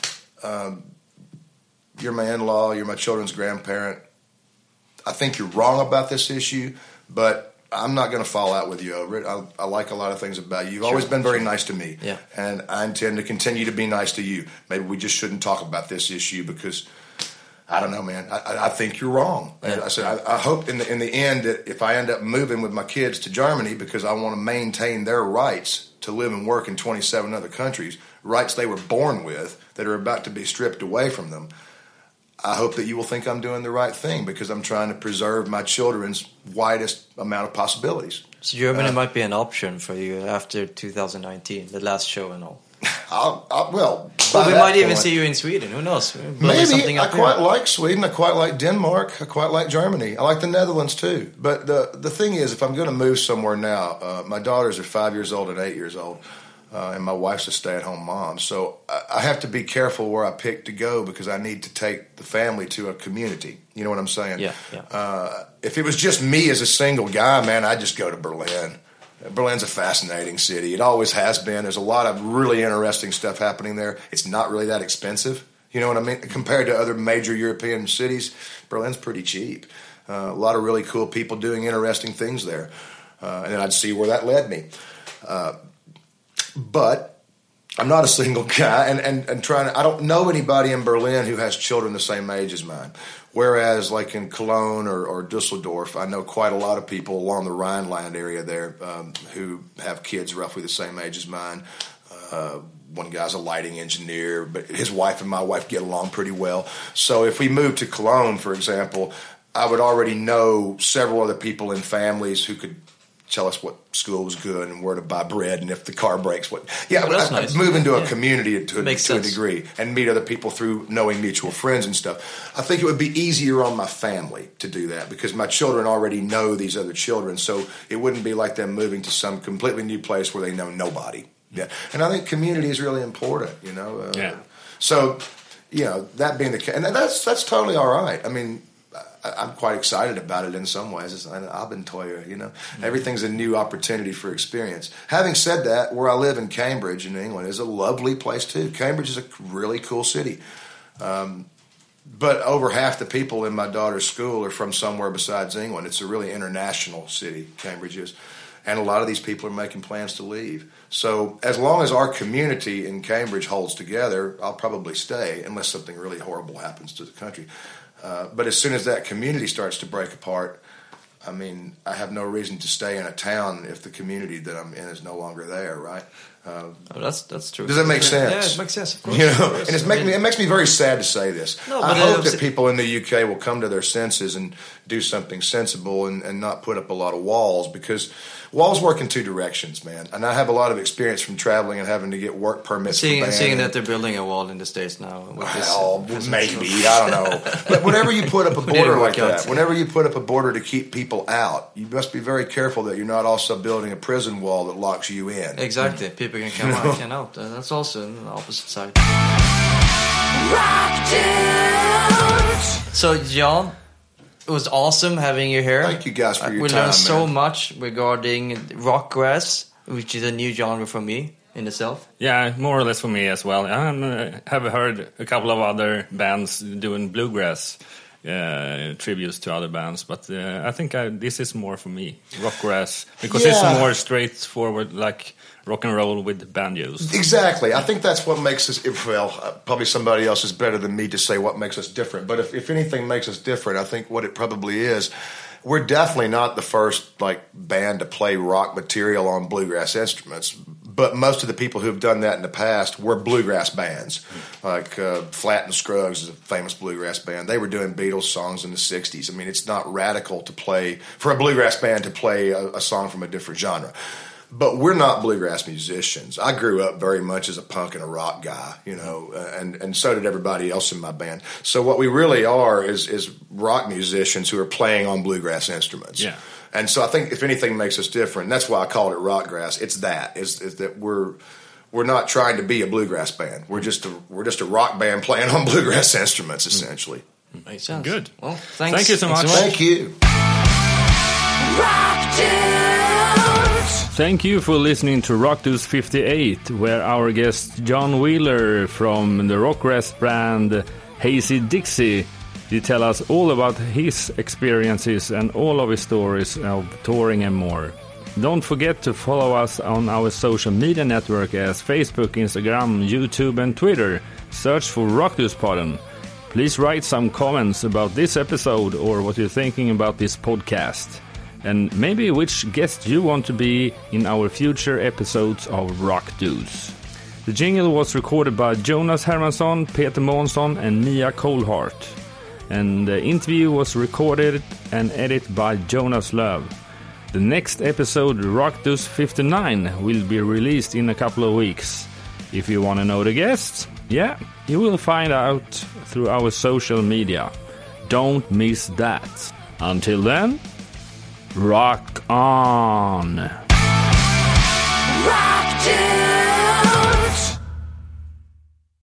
You're my in-law, you're my children's grandparent. I think you're wrong about this issue, but I'm not going to fall out with you over it. I like a lot of things about you. You've always been very nice to me, and I intend to continue to be nice to you. Maybe we just shouldn't talk about this issue because I don't know, man. I think you're wrong. Yeah. I said, I hope in the end that if I end up moving with my kids to Germany because I want to maintain their rights to live and work in 27 other countries, rights they were born with that are about to be stripped away from them, I hope that you will think I'm doing the right thing because I'm trying to preserve my children's widest amount of possibilities. So Germany might be an option for you after 2019, the last show and all. Well, we might even see you in Sweden. Who knows? Maybe. I quite like Sweden. I quite like Denmark. I quite like Germany. I like the Netherlands too. But the thing is, if I'm going to move somewhere now, my daughters are 5 years old and 8 years old, and my wife's a stay-at-home mom. So I have to be careful where I pick to go because I need to take the family to a community. You know what I'm saying? Yeah. If it was just me as a single guy, man, I'd just go to Berlin. Berlin's a fascinating city. It always has been. There's a lot of really interesting stuff happening there. It's not really that expensive. You know what I mean? Compared to other major European cities, Berlin's pretty cheap. A lot of really cool people doing interesting things there. And then I'd see where that led me. But I'm not a single guy, and trying to, I don't know anybody in Berlin who has children the same age as mine. Whereas, like in Cologne or Dusseldorf, I know quite a lot of people along the Rhineland area there who have kids roughly the same age as mine. One guy's a lighting engineer, but his wife and my wife get along pretty well. So if we moved to Cologne, for example, I would already know several other people in families who could tell us what school was good and where to buy bread and if the car breaks. I'd nice. move into a community to a sense. degree and meet other people through knowing mutual friends and stuff. I think it would be easier on my family to do that because my children already know these other children, so it wouldn't be like them moving to some completely new place where they know nobody. Yeah, and I think community is really important, you know. So, you know, that being the case, and that's totally all right. I mean, I'm quite excited about it in some ways. It's an Abenteuer, you know. Everything's a new opportunity for experience. Having said that, where I live in Cambridge in England is a lovely place too. Cambridge is a really cool city. But over half the people in my daughter's school are from somewhere besides England. It's a really international city, Cambridge is. And a lot of these people are making plans to leave. So as long as our community in Cambridge holds together, I'll probably stay unless something really horrible happens to the country. But as soon as that community starts to break apart, I mean, I have no reason to stay in a town if the community that I'm in is no longer there, right? That's true. Does that make sense? Yeah, it makes sense, of course. You know, and it makes me very sad to say this. No, I hope that people in the UK will come to their senses and do something sensible and not put up a lot of walls, because walls work in two directions, man. And I have a lot of experience from traveling and having to get work permits. Seeing that they're building a wall in the States now. Well, maybe. I don't know. But whenever you put up a border like that, whenever you put up a border to keep people out, you must be very careful that you're not also building a prison wall that locks you in. Exactly. People can come out, can out. That's also on the opposite side. So, John, it was awesome having you here. Thank you guys for your we time. We learned so much regarding rockgrass, which is a new genre for me in itself. Yeah, more or less for me as well. I have heard a couple of other bands doing bluegrass tributes to other bands, but I think this is more for me, rockgrass, because it's more straightforward, like rock and roll with banjos. Exactly. I think that's what makes us, probably somebody else is better than me to say what makes us different. But if anything makes us different, I think what it probably is, we're definitely not the first band to play rock material on bluegrass instruments. But most of the people who have done that in the past were bluegrass bands. Like Flatt and Scruggs is a famous bluegrass band. They were doing Beatles songs in the 60s. I mean, it's not radical to play, for a bluegrass band to play a song from a different genre. But we're not bluegrass musicians. I grew up very much as a punk and a rock guy, you know, and so did everybody else in my band. So what we really are is rock musicians who are playing on bluegrass instruments. Yeah. And so I think if anything makes us different, that's why I called it rockgrass. It's that we're not trying to be a bluegrass band. We're just a rock band playing on bluegrass instruments, essentially. Makes sense. Good. Well, thanks. Thank you so much. Thank you. Thank you for listening to Rock Dudes 58, where our guest John Wheeler from the rockgrass brand Hazy Dixie did tell us all about his experiences and all of his stories of touring and more. Don't forget to follow us on our social media network as Facebook, Instagram, YouTube and Twitter. Search for Rock Dudes Podden. Please write some comments about this episode or what you're thinking about this podcast. And maybe which guest you want to be in our future episodes of Rock Dudes. The jingle was recorded by Jonas Hermansson, Peter Månsson and Mia Colhart. And the interview was recorded and edited by Jonas Löv. The next episode, Rock Dudes 59, will be released in a couple of weeks. If you want to know the guests, you will find out through our social media. Don't miss that. Until then, rock on! Rock Dudes!